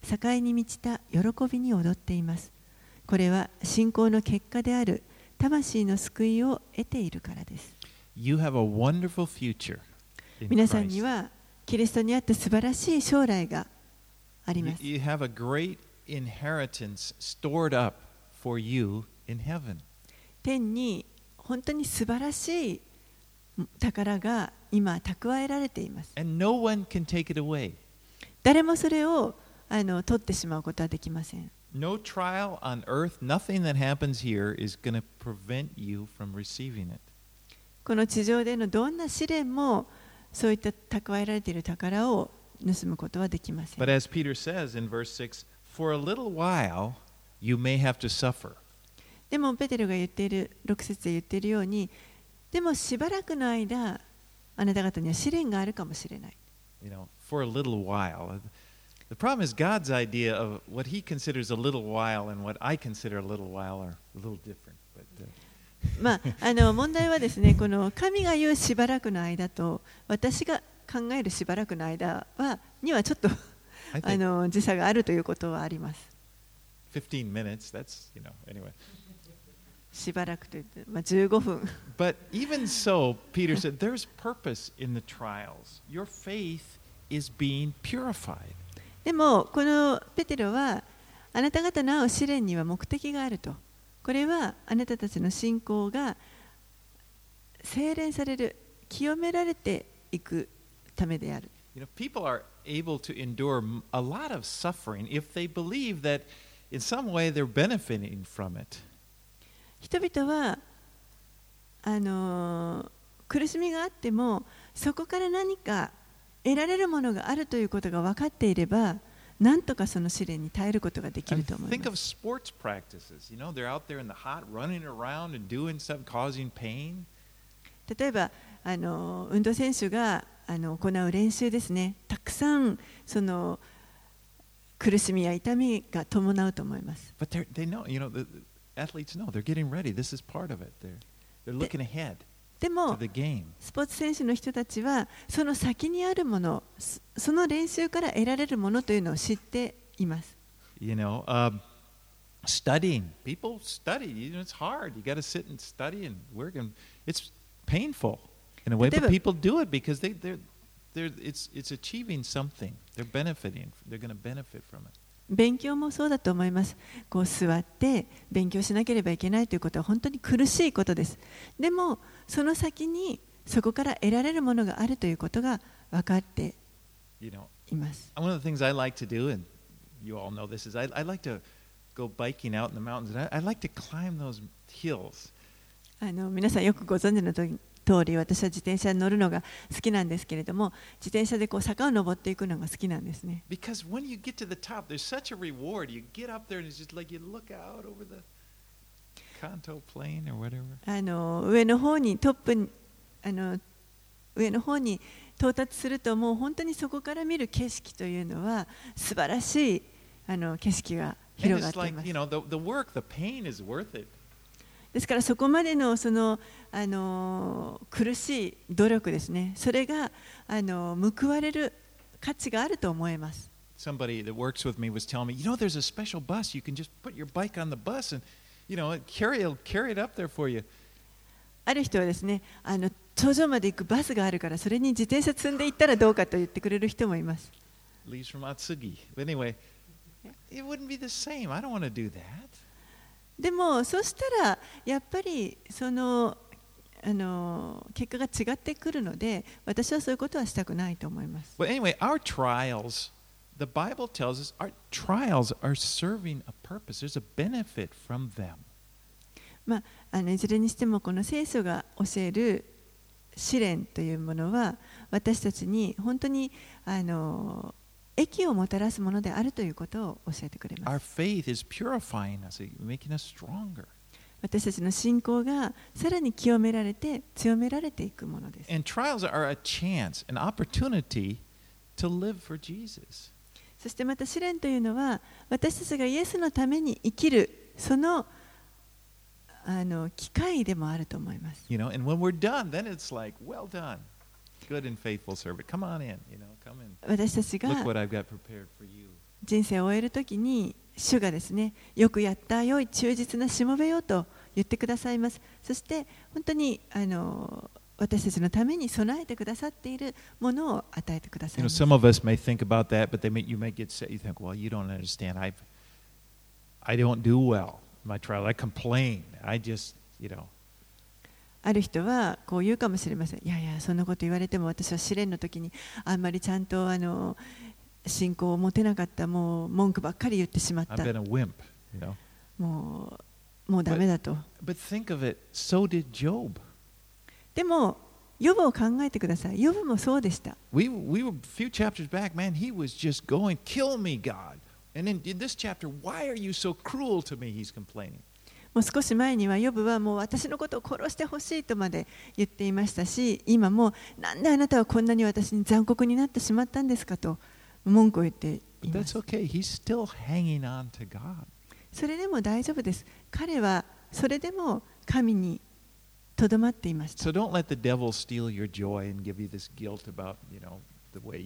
Speaker 2: 栄に満ちた喜びに踊っています。これは信仰の結果である魂の救いを得ているからです。
Speaker 1: You have a wonderful future in
Speaker 2: 皆さんに
Speaker 1: Christ.
Speaker 2: はキリストにあって素晴らしい将来があります。
Speaker 1: You have a great inheritance stored up for you in heaven.
Speaker 2: 天に本当に素晴らしい宝が今蓄えられています。
Speaker 1: And no one can take it away.
Speaker 2: 誰もそれを取ってしまうことはできません。
Speaker 1: No trial on earth, nothing that happens here is going to prevent you from receiving it.
Speaker 2: この地上でのどんな試練もそういった蓄えられている宝を盗むことはできません。
Speaker 1: But as Peter says in verse 6, for a little while you may have to suffer.
Speaker 2: でもペテロが言っている6節で言っているように、でもしばらくの間あなた方には試練があるかもしれない。
Speaker 1: You know, for a little while. The problem is God's idea of what he considers a little while and what I consider a little while are a little different. But,
Speaker 2: 問題はですね、この神が言うしばらくの間と私が考えるしばらくの間にはちょっと時差があるということはあります。
Speaker 1: 15 minutes, that's, anyway.
Speaker 2: しばらくといって、15分。
Speaker 1: But even so, Peter said, there's purpose in the trials. Your faith is being purified.
Speaker 2: でも、このペテロは、あなた方の会う試練には目的があると。これは、あなたたちの信仰が精錬される、清められていくためである。
Speaker 1: People are able to endure a lot of suffering if they believe that in some way they're benefiting from it.
Speaker 2: 人々は苦しみがあってもそこから何か得られるものがあるということが分かっていれば何とかその試練に耐えることができると思い
Speaker 1: Think
Speaker 2: ま
Speaker 1: of
Speaker 2: す。
Speaker 1: sports practices. They're out there in the hot, running around and doing stuff, causing pain.
Speaker 2: 例えば運動選手が行う練習ですね。たくさんその苦しみや痛みが伴うと思います。
Speaker 1: But they know, the athletes know they're getting ready. This is part of it. They're looking ahead
Speaker 2: で
Speaker 1: to
Speaker 2: も
Speaker 1: the game.
Speaker 2: スポーツ選手の人たちはその先にあるもの、その練習から得られるものというのを知っています。
Speaker 1: Studying. People study. It's hard. You got to sit and study and work, and it's painful in a way. But people do it because it's achieving something. They're benefiting. They're going to benefit from it.
Speaker 2: 勉強もそうだと思います。こう座って勉強しなければいけないということは本当に苦しいことです。でもその先にそこから得られるものがあるということが分かっています。
Speaker 1: One of the things I like to do, and you all know this, is I like to go biking out in the mountains, and I like to climb those hills.
Speaker 2: 皆さんよくご存知の通り、私は自転車に乗るのが好きなんですけれども、自転車でこう坂を登っていくのが好きなんですね。
Speaker 1: Because when you get to the top, there's such a reward. You get up there and it's just like you look out over the Kanto plain or whatever.
Speaker 2: 上の方に上の方に到達するともう本当にそこから見る景色というのは素晴らしい景色が
Speaker 1: And
Speaker 2: 広がっ
Speaker 1: it's
Speaker 2: てい
Speaker 1: like,
Speaker 2: ます。
Speaker 1: the work, the pain is worth it.
Speaker 2: ですからそこまでのその苦しい努力ですね。それが報われる価値があると思います。
Speaker 1: Somebody that works with me was telling me, there's a special bus. You can just put your bike on the bus and, carry it up there for you.
Speaker 2: ある人はですね、頂上まで行くバスがあるからそれに自転車積んで行ったらどうかと言ってくれる人もいます。
Speaker 1: Leaves from Atsugi. But anyway, it wouldn't be the same. I don't want to do that.
Speaker 2: でもそしたらやっぱりその結果が違ってくるので、私はそういうことはしたくないと思います。
Speaker 1: But anyway, our trials, the Bible tells us, our trials are serving a purpose. There's a benefit from them.
Speaker 2: いずれにしてもこの聖書が教える試練というものは私たちに本当に益をもたらすものであるということを教えてくれま
Speaker 1: Our
Speaker 2: す。
Speaker 1: faith is purifying us, making us stronger.
Speaker 2: 私たちの信仰がさらに清められて強められていくものです。
Speaker 1: And trials are a chance, an opportunity to live for Jesus.
Speaker 2: そしてまた試練というのは私たちがイエスのために生きるその機会でもあると思います。
Speaker 1: And when we're done, then it's like, well done, good and faithful servant. Come on in, come in.
Speaker 2: 私たち
Speaker 1: Look
Speaker 2: が
Speaker 1: what I've got prepared for you.
Speaker 2: 人生を終えるときに主がですね、よくやった、良い忠実なしもべよと言ってくださいます。そして本当に私たちのために備えてくださっているものを与えてくださいます。
Speaker 1: some of us may think about that, but you may get set. You think, well, you don't understand. I don't do well in my trial. I complain. I just,
Speaker 2: ある人はこう言うかもしれません。いやいや、そんなこと言われても私は試練の時にあんまりちゃんと信仰を持てなかった、もう文句ばっかり言ってしまった。
Speaker 1: I've been a wimp,
Speaker 2: もうダメだと。
Speaker 1: But think of it, so did Job.
Speaker 2: でも、ヨブを考えてください。ヨブもそうでした。
Speaker 1: We were a few chapters back, man, he was just going, kill me, God. And in this chapter, why are you so cruel to me? He's complaining.
Speaker 2: もう少し前にはヨブはもう私のことを殺してほしいとまで言っていましたし、今もなんであなたはこんなに私に残酷になってしまったんですかと文句を言っています。
Speaker 1: But that's okay. He's still hanging on to God.
Speaker 2: それでも大丈夫です。彼はそれでも神にとどまっていました。
Speaker 1: So don't let the devil steal your joy and give you this guilt about, the way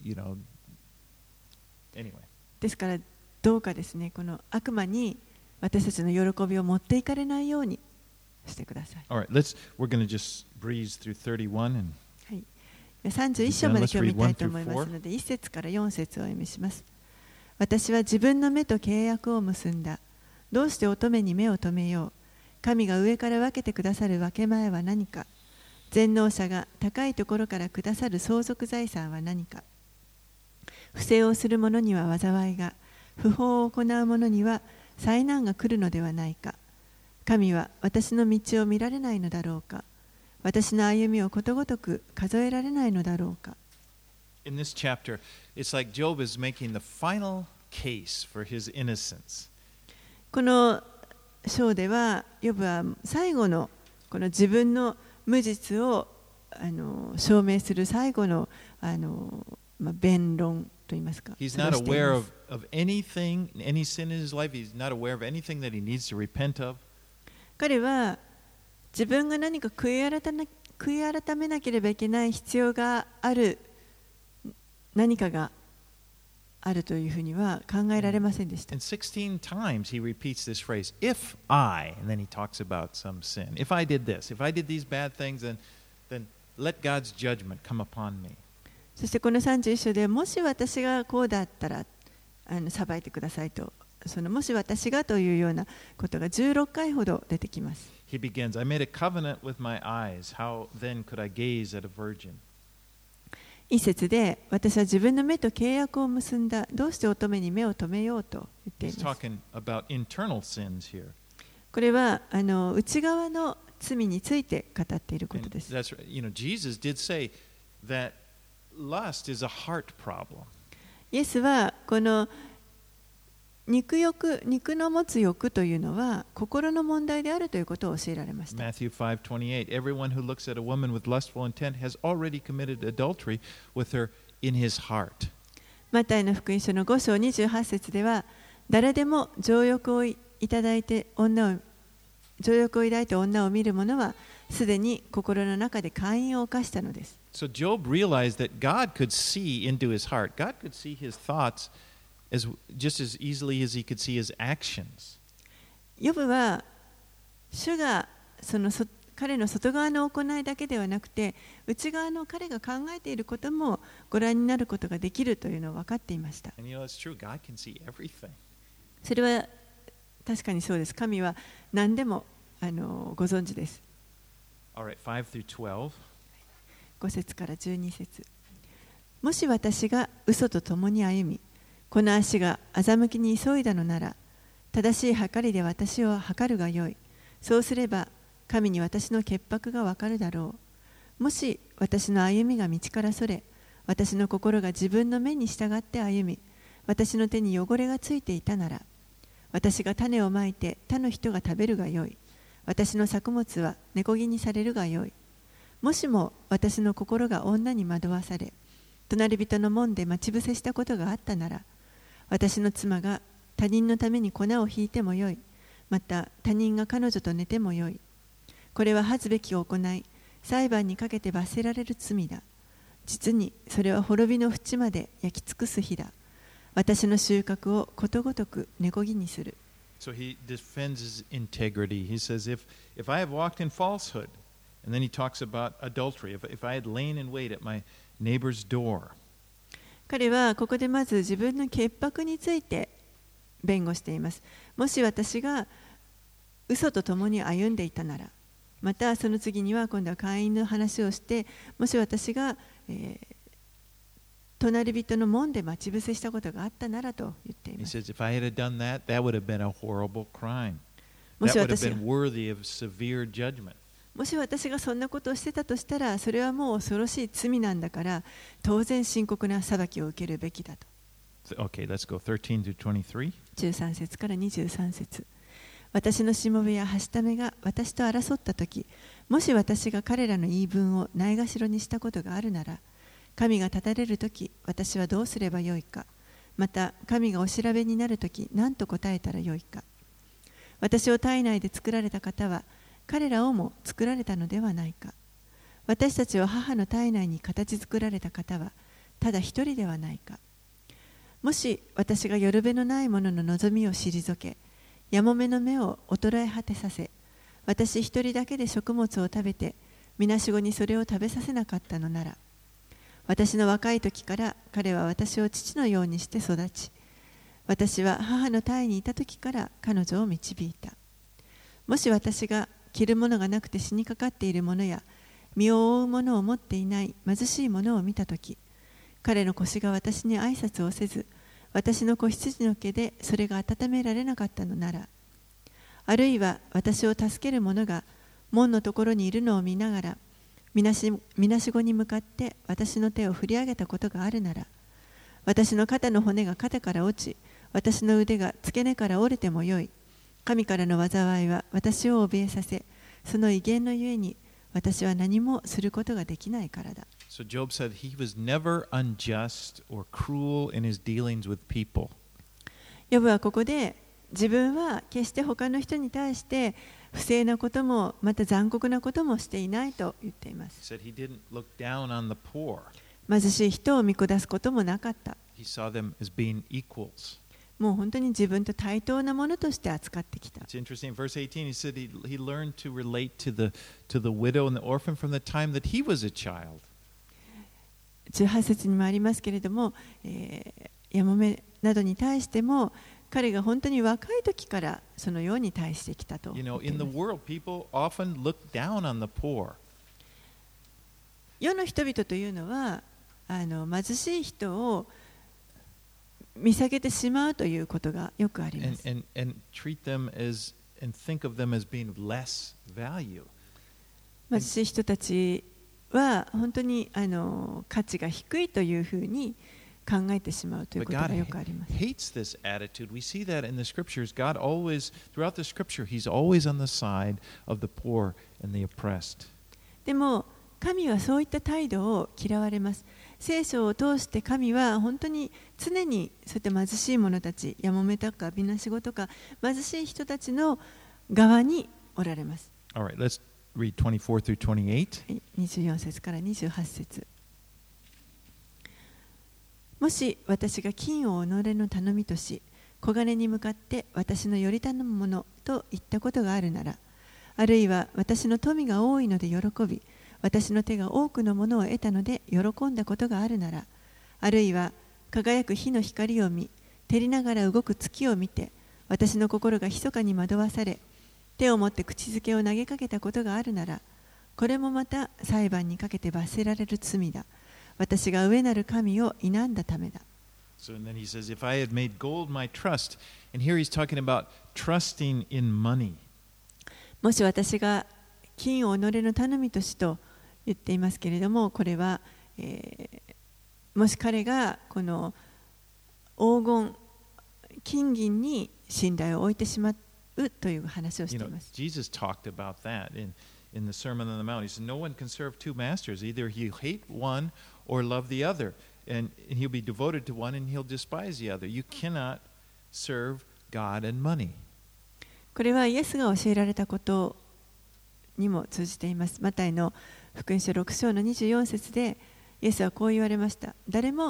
Speaker 1: anyway.
Speaker 2: ですからどうかですね、この悪魔に私たちの喜びを持っていかれないようにしてください。
Speaker 1: All right, we're going to just breeze through 31 and
Speaker 2: はい。31章まで今日見たいと思いますので、1節から4節をお読みします。私は自分の目と契約を結んだ。どうして乙女に目を留めよう。神が上から分けてくださる分け前は何か。全能者が高いところからくださる相続財産は何か。不正をする者には災いが、不法を行う者には災難が来るのではないか。神は私の道を見られないのだろうか。私の歩みをことごとく数えられないのだろうか。
Speaker 1: In this chapter, it's like Job is making the final case for his innocence.
Speaker 2: この章では、ヨブは最後のこの自分の無実を証明する最後の弁論といいますか。
Speaker 1: He's not aware of anything, any sin in his life. He's not aware of anything that he needs to repent of.
Speaker 2: 彼は自分が何か悔い改めなければいけない必要がある何かがあるというふうには考えられませんでした。
Speaker 1: And 16 times he repeats this phrase, if I, and then he talks about some sin. If I did this, if I did these bad things, then let God's judgment come upon me.
Speaker 2: そしてこの31章でもし私がこうだったら裁いてくださいと、もし私がというようなことが16回ほど出てきます。
Speaker 1: He begins, I made a covenant with my eyes. How then could I gaze at a virgin?
Speaker 2: 一節で私は自分の目と契約を結んだ。どうして乙女に目を留めようと言っています。
Speaker 1: He's talking about internal sins here.
Speaker 2: これは内側の罪について語っていることです。
Speaker 1: That's right. Jesus did say that lust is a heart problem.
Speaker 2: イエスはこの肉の持つ欲というのは心の問題であるということを教えられました。
Speaker 1: Matthew 5:28 Everyone who looks at a woman with lustful intent has already committed adultery with her in his heart.
Speaker 2: マタイの福音書の5章28節では、誰でも情欲を抱いて女を見る者はすでに心の中で姦淫を犯したのです。
Speaker 1: So Job realized that God could see into his heart. God could see his thoughts just as easily as he could see his actions.
Speaker 2: ヨブは主が彼の外側の行いだけではなくて、内側の彼が考えていることもご覧になることができるというのを分かっていました。
Speaker 1: And it's true. God can see everything.
Speaker 2: それは確かにそうです。神は何でもご存知です。
Speaker 1: All right, 5 through 12.
Speaker 2: 5節から12節。もし私が嘘と共に歩み、この足が欺きに急いだのなら、正しい計りで私を計るがよい。そうすれば、神に私の潔白がわかるだろう。もし私の歩みが道からそれ、私の心が自分の目に従って歩み、私の手に汚れがついていたなら、私が種をまいて他の人が食べるがよい。私の作物は根こぎにされるがよい。もしも私の心が女に惑わされ、隣人の門で待ち伏せしたことがあったなら、私の妻が他人のために粉をひいてもよい。また他人が彼女と寝てもよい。これは恥ずべき行い、裁判にかけて罰せられる罪だ。実にそれは滅びの淵まで焼き尽くす日だ。 私の収穫をことごとく根こぎにする。
Speaker 1: So he defends his integrity. He says, if I have walked in falsehood, and then he talks about adultery, if I had lain in wait at my neighbor's door.
Speaker 2: 彼はここでまず自分の潔白について弁護しています。もし私が嘘と共に歩んでいたなら、またその次には今度は会員の話をして、もし私が、隣人の門で待ち伏せしたことがあったならと言っています。
Speaker 1: He says, if I had done that, that would have been a horrible crime.
Speaker 2: も
Speaker 1: That
Speaker 2: し
Speaker 1: would have
Speaker 2: 私
Speaker 1: been worthy of severe judgment.
Speaker 2: もし私がそんなことをしてたとしたら、それはもう恐ろしい罪なんだから、当然深刻な裁きを受けるべきだと。
Speaker 1: Okay, let's go 13 to 23.
Speaker 2: 13節から23節。私のしもべやはしためが私と争ったとき、もし私が彼らの言い分をないがしろにしたことがあるなら、神が立たれるとき、私はどうすればよいか。また、神がお調べになるとき、何と答えたらよいか。私を体内で作られた方は、彼らをも作られたのではないか。私たちを母の体内に形作られた方は、ただ一人ではないか。もし私がよるべのないものの望みを退け、やもめの目を衰え果てさせ、私一人だけで食物を食べて、みなしごにそれを食べさせなかったのなら、私の若い時から彼は私を父のようにして育ち、私は母の胎にいた時から彼女を導いた。もし私が着るものがなくて死にかかっているものや、身を覆うものを持っていない貧しいものを見たとき、彼の腰が私に挨拶をせず、私の子羊の毛でそれが温められなかったのなら、あるいは私を助ける者が門のところにいるのを見ながら、みなしごに向かって私の手を振り上げたことがあるなら、私の肩の骨が肩から落ち、私の腕が付け根から折れてもよい。神からの災いは私を怯えさせ、その威厳のゆえに私は何もすることができないからだ。
Speaker 1: So Job said he was never unjust or cruel in his dealings with people.
Speaker 2: ヨブはここで自分は決して他の人に対して不正なこともまた残酷なこともしていないと言っています。
Speaker 1: He said he didn't look down on the poor.
Speaker 2: 貧しい人を見下すこともなかった。
Speaker 1: He saw them as being equals.
Speaker 2: もう本当に自分と対等なものとして扱ってきた。
Speaker 1: It's interesting. In verse 18, he said he learned to relate to the widow and the orphan from the time that he was a child.
Speaker 2: 18節にもありますけれども、やもめなどに対しても彼が本当に若い時からそのように対してきたと。
Speaker 1: You know, in the world, people often look down on the poor.
Speaker 2: 世の人々というのは貧しい人を見下げてしまうということがよくあります。
Speaker 1: And treat them as and think of them as being less value.
Speaker 2: 貧しい人たちは本当に価値が低いというふうに考えてしまうということがよくあります。
Speaker 1: But God hates this attitude. We see that in the scriptures. God always, throughout the scripture, He's always on the side of the poor and the oppressed.
Speaker 2: でも神はそういった態度を嫌われます。聖書を通して神は本当に常にそういった貧しい者たち、やもめとかみなしごとか貧しい人たちの側におられます。
Speaker 1: All right, let's read 24 through 28.
Speaker 2: 24節から28節。もし私が金を己の頼みとし、小金に向かって私のより頼むものと言ったことがあるなら、あるいは私の富が多いので喜び、私の手が多くのものを得たので喜んだことがあるなら、あるいは輝く火の光を見、照りながら動く月を見て、私の心が密かに惑わされ、手を持って口づけを投げかけたことがあるなら、これもまた裁判にかけて罰せられる罪だ。私が上なる神を否んだためだ。
Speaker 1: So and then he says, if I had made gold my trust, and here he's talking about trusting in money.
Speaker 2: もし私が金を己の頼みとしと言っていますけれども、これは、もし彼がこの黄金、金銀に信頼を置いてしまうという話をしています。
Speaker 1: Jesus talked about that in the Sermon on the Mount. He said, no one can serve two masters. Either he'll hate one or love the other. And he'll be devoted to one and he'll despise the other. You cannot serve God and money.
Speaker 2: これはイエスが教えられたことにも通じています。マタイの福音書6章の24節でイエスはこう言われました。誰も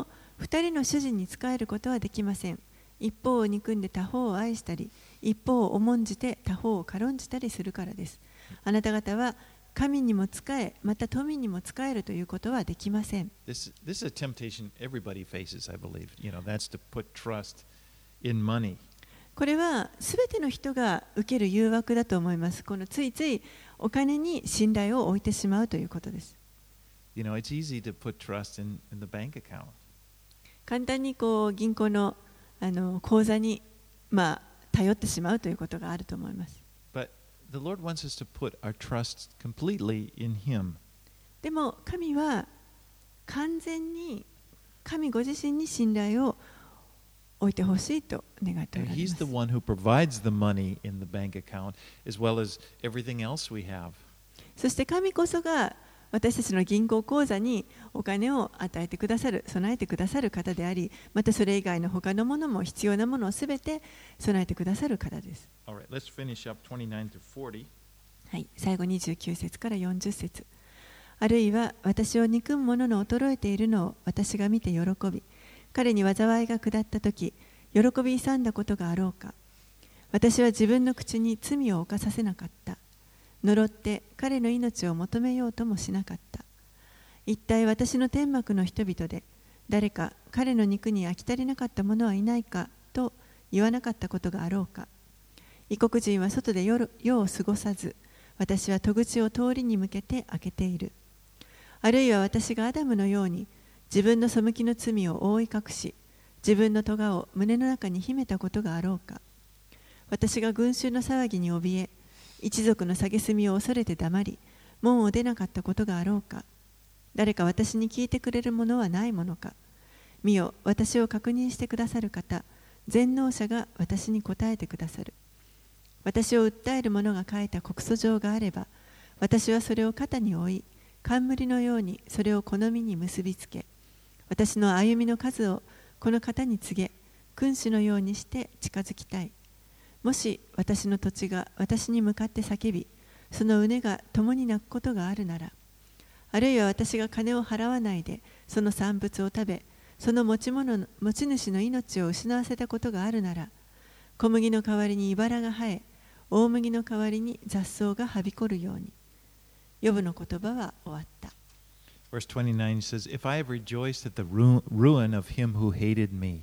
Speaker 2: 二人の主人に仕えることはできません。一方を憎んで他方を愛したり、一方を重んじて他方を軽んじたりするからです。あなた方は神にも仕え、また富にも仕えるということはできません。
Speaker 1: This is a temptation everybody faces, I believe. That's to put trust in money.
Speaker 2: これはすべての人が受ける誘惑だと思います。このついついお金に信頼を置いてしまうということです。
Speaker 1: It's easy to put trust in the bank account.
Speaker 2: 簡単に銀行の口座に頼ってしまうということがあると思います。
Speaker 1: But the Lord wants us to put our trust completely in Him.
Speaker 2: でも神は完全に神ご自身に信頼を置いてほしいと願っておられます。
Speaker 1: And He's the one who provides the money in the bank account as well as everything else we have.
Speaker 2: そして神こそが私たちの銀行口座にお金を与えてくださる、備えてくださる方であり、またそれ以外の他のものも必要なものをすべて備えてくださる方です。
Speaker 1: All right, let's finish up 29 to 40.
Speaker 2: はい、最後29節から40節。あるいは私を憎む者の衰えているのを私が見て喜び、彼に災いが下ったとき、喜び勇んだことがあろうか。私は自分の口に罪を犯させなかった。呪って彼の命を求めようともしなかった。一体私の天幕の人々で誰か彼の肉に飽き足りなかった者はいないかと言わなかったことがあろうか。異国人は外で夜を過ごさず、私は戸口を通りに向けて開けている。あるいは私がアダムのように自分の背きの罪を覆い隠し、自分の咎を胸の中に秘めたことがあろうか。私が群衆の騒ぎに怯え、一族の蔑みを恐れて黙り、門を出なかったことがあろうか。誰か私に聞いてくれるものはないものか。見よ、私を確認してくださる方、全能者が私に答えてくださる。私を訴える者が書いた告訴状があれば、私はそれを肩に負い、冠のようにそれを好みに結びつけ、私の歩みの数をこの方に告げ、君主のようにして近づきたい。もし私の土地が私に向かって叫び、その畝が共に泣くことがあるなら、あるいは私が金を払わないでその産物を食べ、その持ち主の命を失わせたことがあるなら、小麦の代わりに茨が生え、大麦の代わりに雑草がはびこるように。ヨブの言葉は終わった。
Speaker 1: Verse 29 says, If I have rejoiced at the ruin of him who hated me.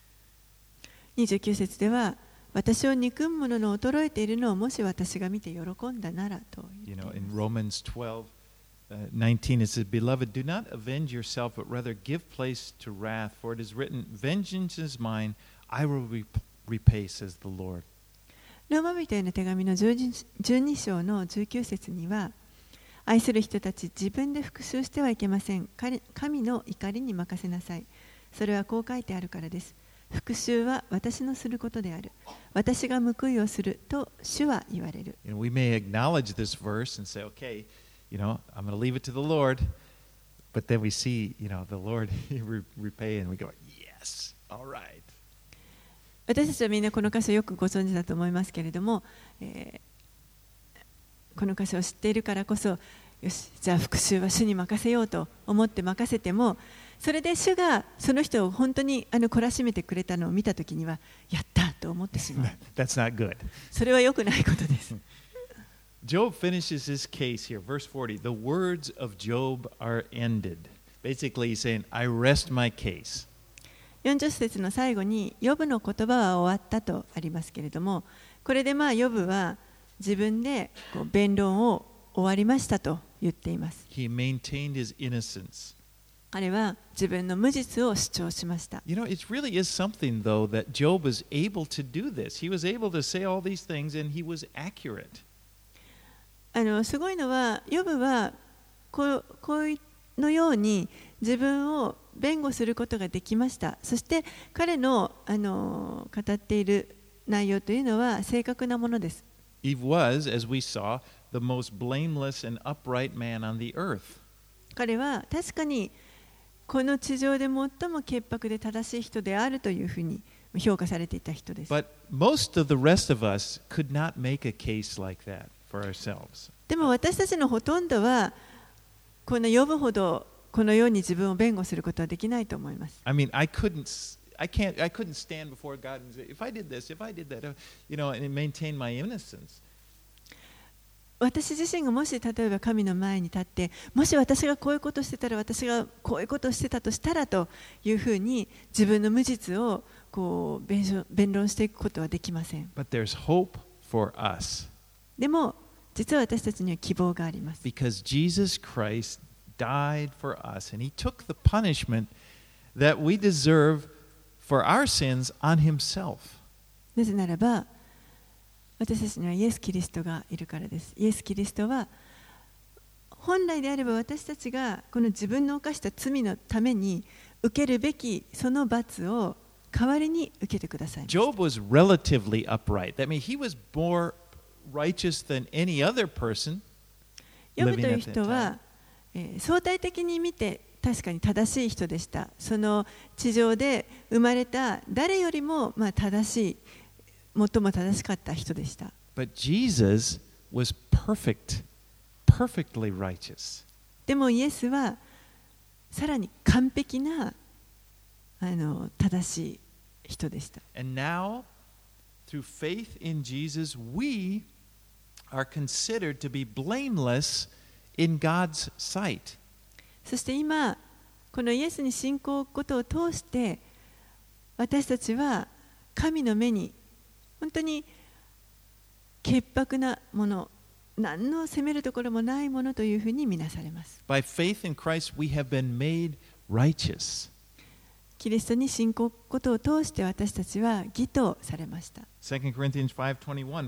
Speaker 2: 29節では、私を憎む者の衰えているのをもし私が見て喜んだならと言っています。
Speaker 1: In Romans 12:19 it says, Beloved, do not avenge yourself, but rather give place to wrath, for it is written, Vengeance is mine, I will repay, says the Lord.
Speaker 2: ローマ人への手紙の12章の19節には、愛する人たち、自分で復讐してはいけません。神の怒りに任せなさい。それはこう書いてあるからです。復讐は私のすることである。私が報いをすると主は言われる。
Speaker 1: We may acknowledge this verse and say, okay, I'm going to leave it to the Lord. But then we see, the Lord repay and we go, yes, all right.
Speaker 2: 私たちはみんなこの箇所よくご存知だと思いますけれども、この箇所を知っているからこそ、よし、じゃあ復讐は主に任せようと思って任せても、それで主がその人を本当に懲らしめてくれたのを見たときには、やったと思ってしまう。
Speaker 1: That's not good.
Speaker 2: それは良くないことです。
Speaker 1: Job finishes his case here, verse 40. The words of Job are ended. Basically, he's saying, I rest my case.
Speaker 2: 40節の最後に、ヨブの言葉は終わったとありますけれども、これでヨブは自分で弁論を終わりましたと言っています。
Speaker 1: He maintained his innocence.
Speaker 2: 彼は自分の無実を主張しました。
Speaker 1: It really is something, though, that Job was able to do this. He was able to say all these things, and he was accurate.
Speaker 2: すごいのは、ヨブはこのように自分を弁護することができました。そして彼の語っている内容というのは正確なものです。
Speaker 1: He was, as we saw, the most blameless and upright man on the earth.
Speaker 2: 彼は確かにこの地上で最も潔白で正しい人であるというふうに評価されていた人です。
Speaker 1: But most of the rest of us could not make a case like that for ourselves.
Speaker 2: でも私たちのほとんどはこのヨブほどこのように自分を弁護することはできないと思います。
Speaker 1: I mean, I couldn't stand before God and say, if I did this, if I did that, and maintain my innocence.
Speaker 2: 私自身がもし例えば神の前に立って、もし私がこういうことをしてたら、私がこういうことをしてたとしたらというふうに自分の無実をこう弁論していくことはできません。
Speaker 1: But there's hope for us.
Speaker 2: でも実は私たちには希望があります。
Speaker 1: Because Jesus Christ died for us and he took the punishment that we deserve for our sins on himself.
Speaker 2: なぜならば私たちにはイエス・キリストがいるからです。イエス・キリストは本来であれば私たちがこの自分の犯した罪のために受けるべきその罰を代わりに受けてください。
Speaker 1: Job was relatively upright. That means he was more righteous than any other person
Speaker 2: ヨブ
Speaker 1: living
Speaker 2: という
Speaker 1: at that
Speaker 2: 人
Speaker 1: time.
Speaker 2: は、相対的に見て確かに正しい人でした。その地上で生まれた誰よりも正しい、最も正しかった人でした。
Speaker 1: But Jesus was perfectly righteous.
Speaker 2: でもイエスはさらに完璧な正しい人でした。
Speaker 1: And now, through faith in Jesus, we are considered to be blameless in God's sight.
Speaker 2: そして今、このイエスに信仰を置くことを通して、私たちは神の目に本当に潔白なもの、何の責めるところもないものというふうに見なされます。
Speaker 1: By faith in Christ, we have been made righteous.
Speaker 2: キリストに信仰を置くことを通して私たちは義とされました。
Speaker 1: 2 Corinthians 5:21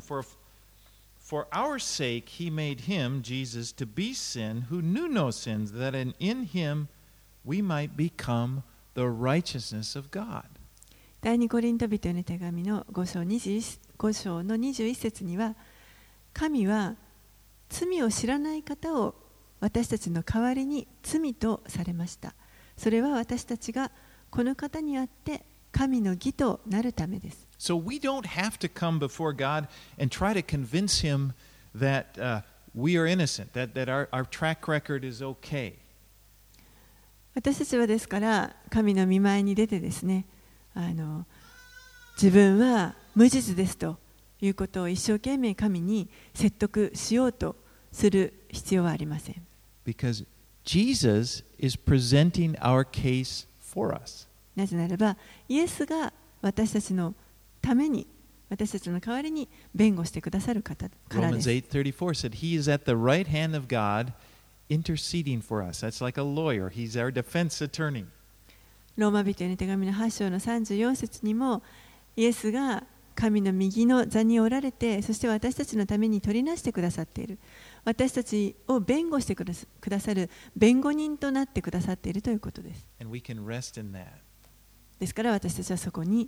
Speaker 1: For our sake he made him, Jesus, to be sin who knew no sins, that in him we might become the righteousness of God.
Speaker 2: 第二コリント人への手紙の5章の21節には、神は罪を知らない方を私たちの代わりに罪とされました。それは私たちがこの方にあって神の義となるためです。
Speaker 1: So we don't have to come before God and try to convince him that we are innocent, that our track record is okay.
Speaker 2: 私たちはですから神の御前に出てですね、自分は無実ですということを一生懸命神に説得しようとする必要はありません。
Speaker 1: Because Jesus is presenting our case for us.
Speaker 2: なぜならば、イエスが私たちのために、私たちの代わりに弁護してくださる方からです。
Speaker 1: Romans 8:34 said, He is at the right hand of God interceding for us. That's like a lawyer. He's our defense attorney.
Speaker 2: ローマ人への手紙の8章の34節にも、イエスが神の右の座におられて、そして私たちのために取りなしてくださっている。私たちを弁護してくださる弁護人となってくださっているということです。
Speaker 1: And we can rest in that.
Speaker 2: ですから私たちはそこに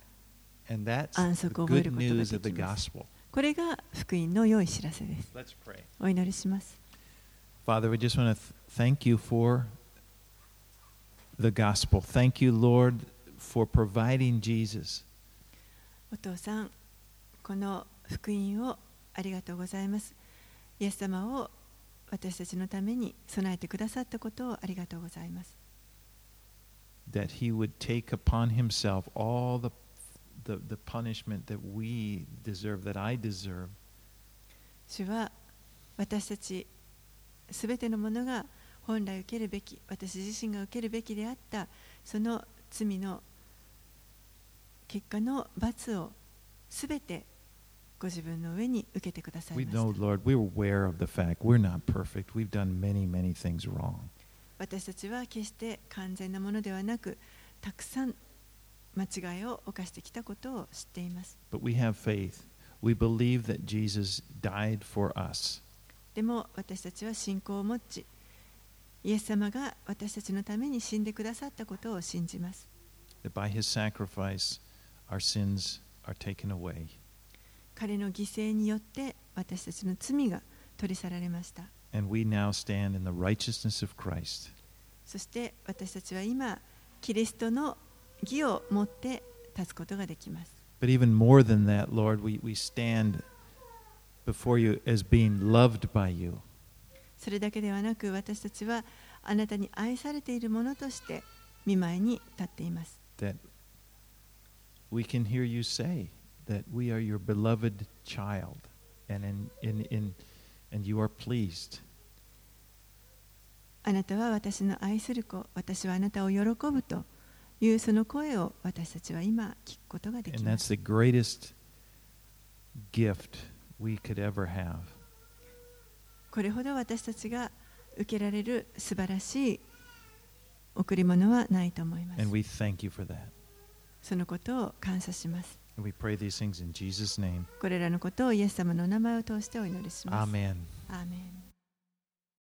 Speaker 1: And that's
Speaker 2: 安
Speaker 1: the
Speaker 2: 息を覚え
Speaker 1: good
Speaker 2: ることが
Speaker 1: news
Speaker 2: で
Speaker 1: of the
Speaker 2: きます。
Speaker 1: gospel.
Speaker 2: これが福音の良い知らせです。
Speaker 1: Let's pray.
Speaker 2: お祈りします。
Speaker 1: Father, we just want to thank you for the gospel. Thank you, Lord, for providing Jesus.
Speaker 2: お父さん、この福音をありがとうございます。イエス様を私たちのために備えてくださったことをありがとうございます。
Speaker 1: That he would take upon himself all the punishment that we deserve, that I deserve.
Speaker 2: 主は私たちすべてのものが本来受けるべき、私自身が受けるべきであったその罪の結果の罰をすべてご自分の上に受けてください
Speaker 1: We
Speaker 2: ました。
Speaker 1: know, Lord, we're aware of the fact we're not perfect. We've done many, many things wrong.
Speaker 2: 私たちは決して完全なものではなく、たくさん間違いを犯してきたことを知っています。
Speaker 1: But we have faith. We believe that Jesus died for us.
Speaker 2: でも私たちは信仰を持ち、イエス様が私たちのために死んでくださったことを信じます。
Speaker 1: That by his sacrifice, our sins are taken away.
Speaker 2: 彼の犠牲によって私たちの罪が取り去られました。
Speaker 1: And we now stand in the righteousness of Christ.
Speaker 2: そして私たちは今、キリストの義を持って立つことができます。
Speaker 1: But even more than that, Lord, we stand before you as being loved by you.
Speaker 2: それだけではなく、私たちはあなたに愛されているものとして御前に立っています。
Speaker 1: That we can hear you say that we are your beloved child, and and you are pleased.
Speaker 2: あなたは私の愛する子、私はあなたを喜ぶというその声を私たちは今聞くことができ
Speaker 1: And
Speaker 2: ま
Speaker 1: that's
Speaker 2: す。
Speaker 1: the greatest gift we could ever have.
Speaker 2: これほど私たちが受けられる素晴らしい贈り物はないと思います。
Speaker 1: And we thank you for that.
Speaker 2: そのことを感謝します。
Speaker 1: And we pray these things in Jesus' name.
Speaker 2: これらのことをイエス様のお名前を通してお祈りします。
Speaker 1: Amen.
Speaker 2: アーメン。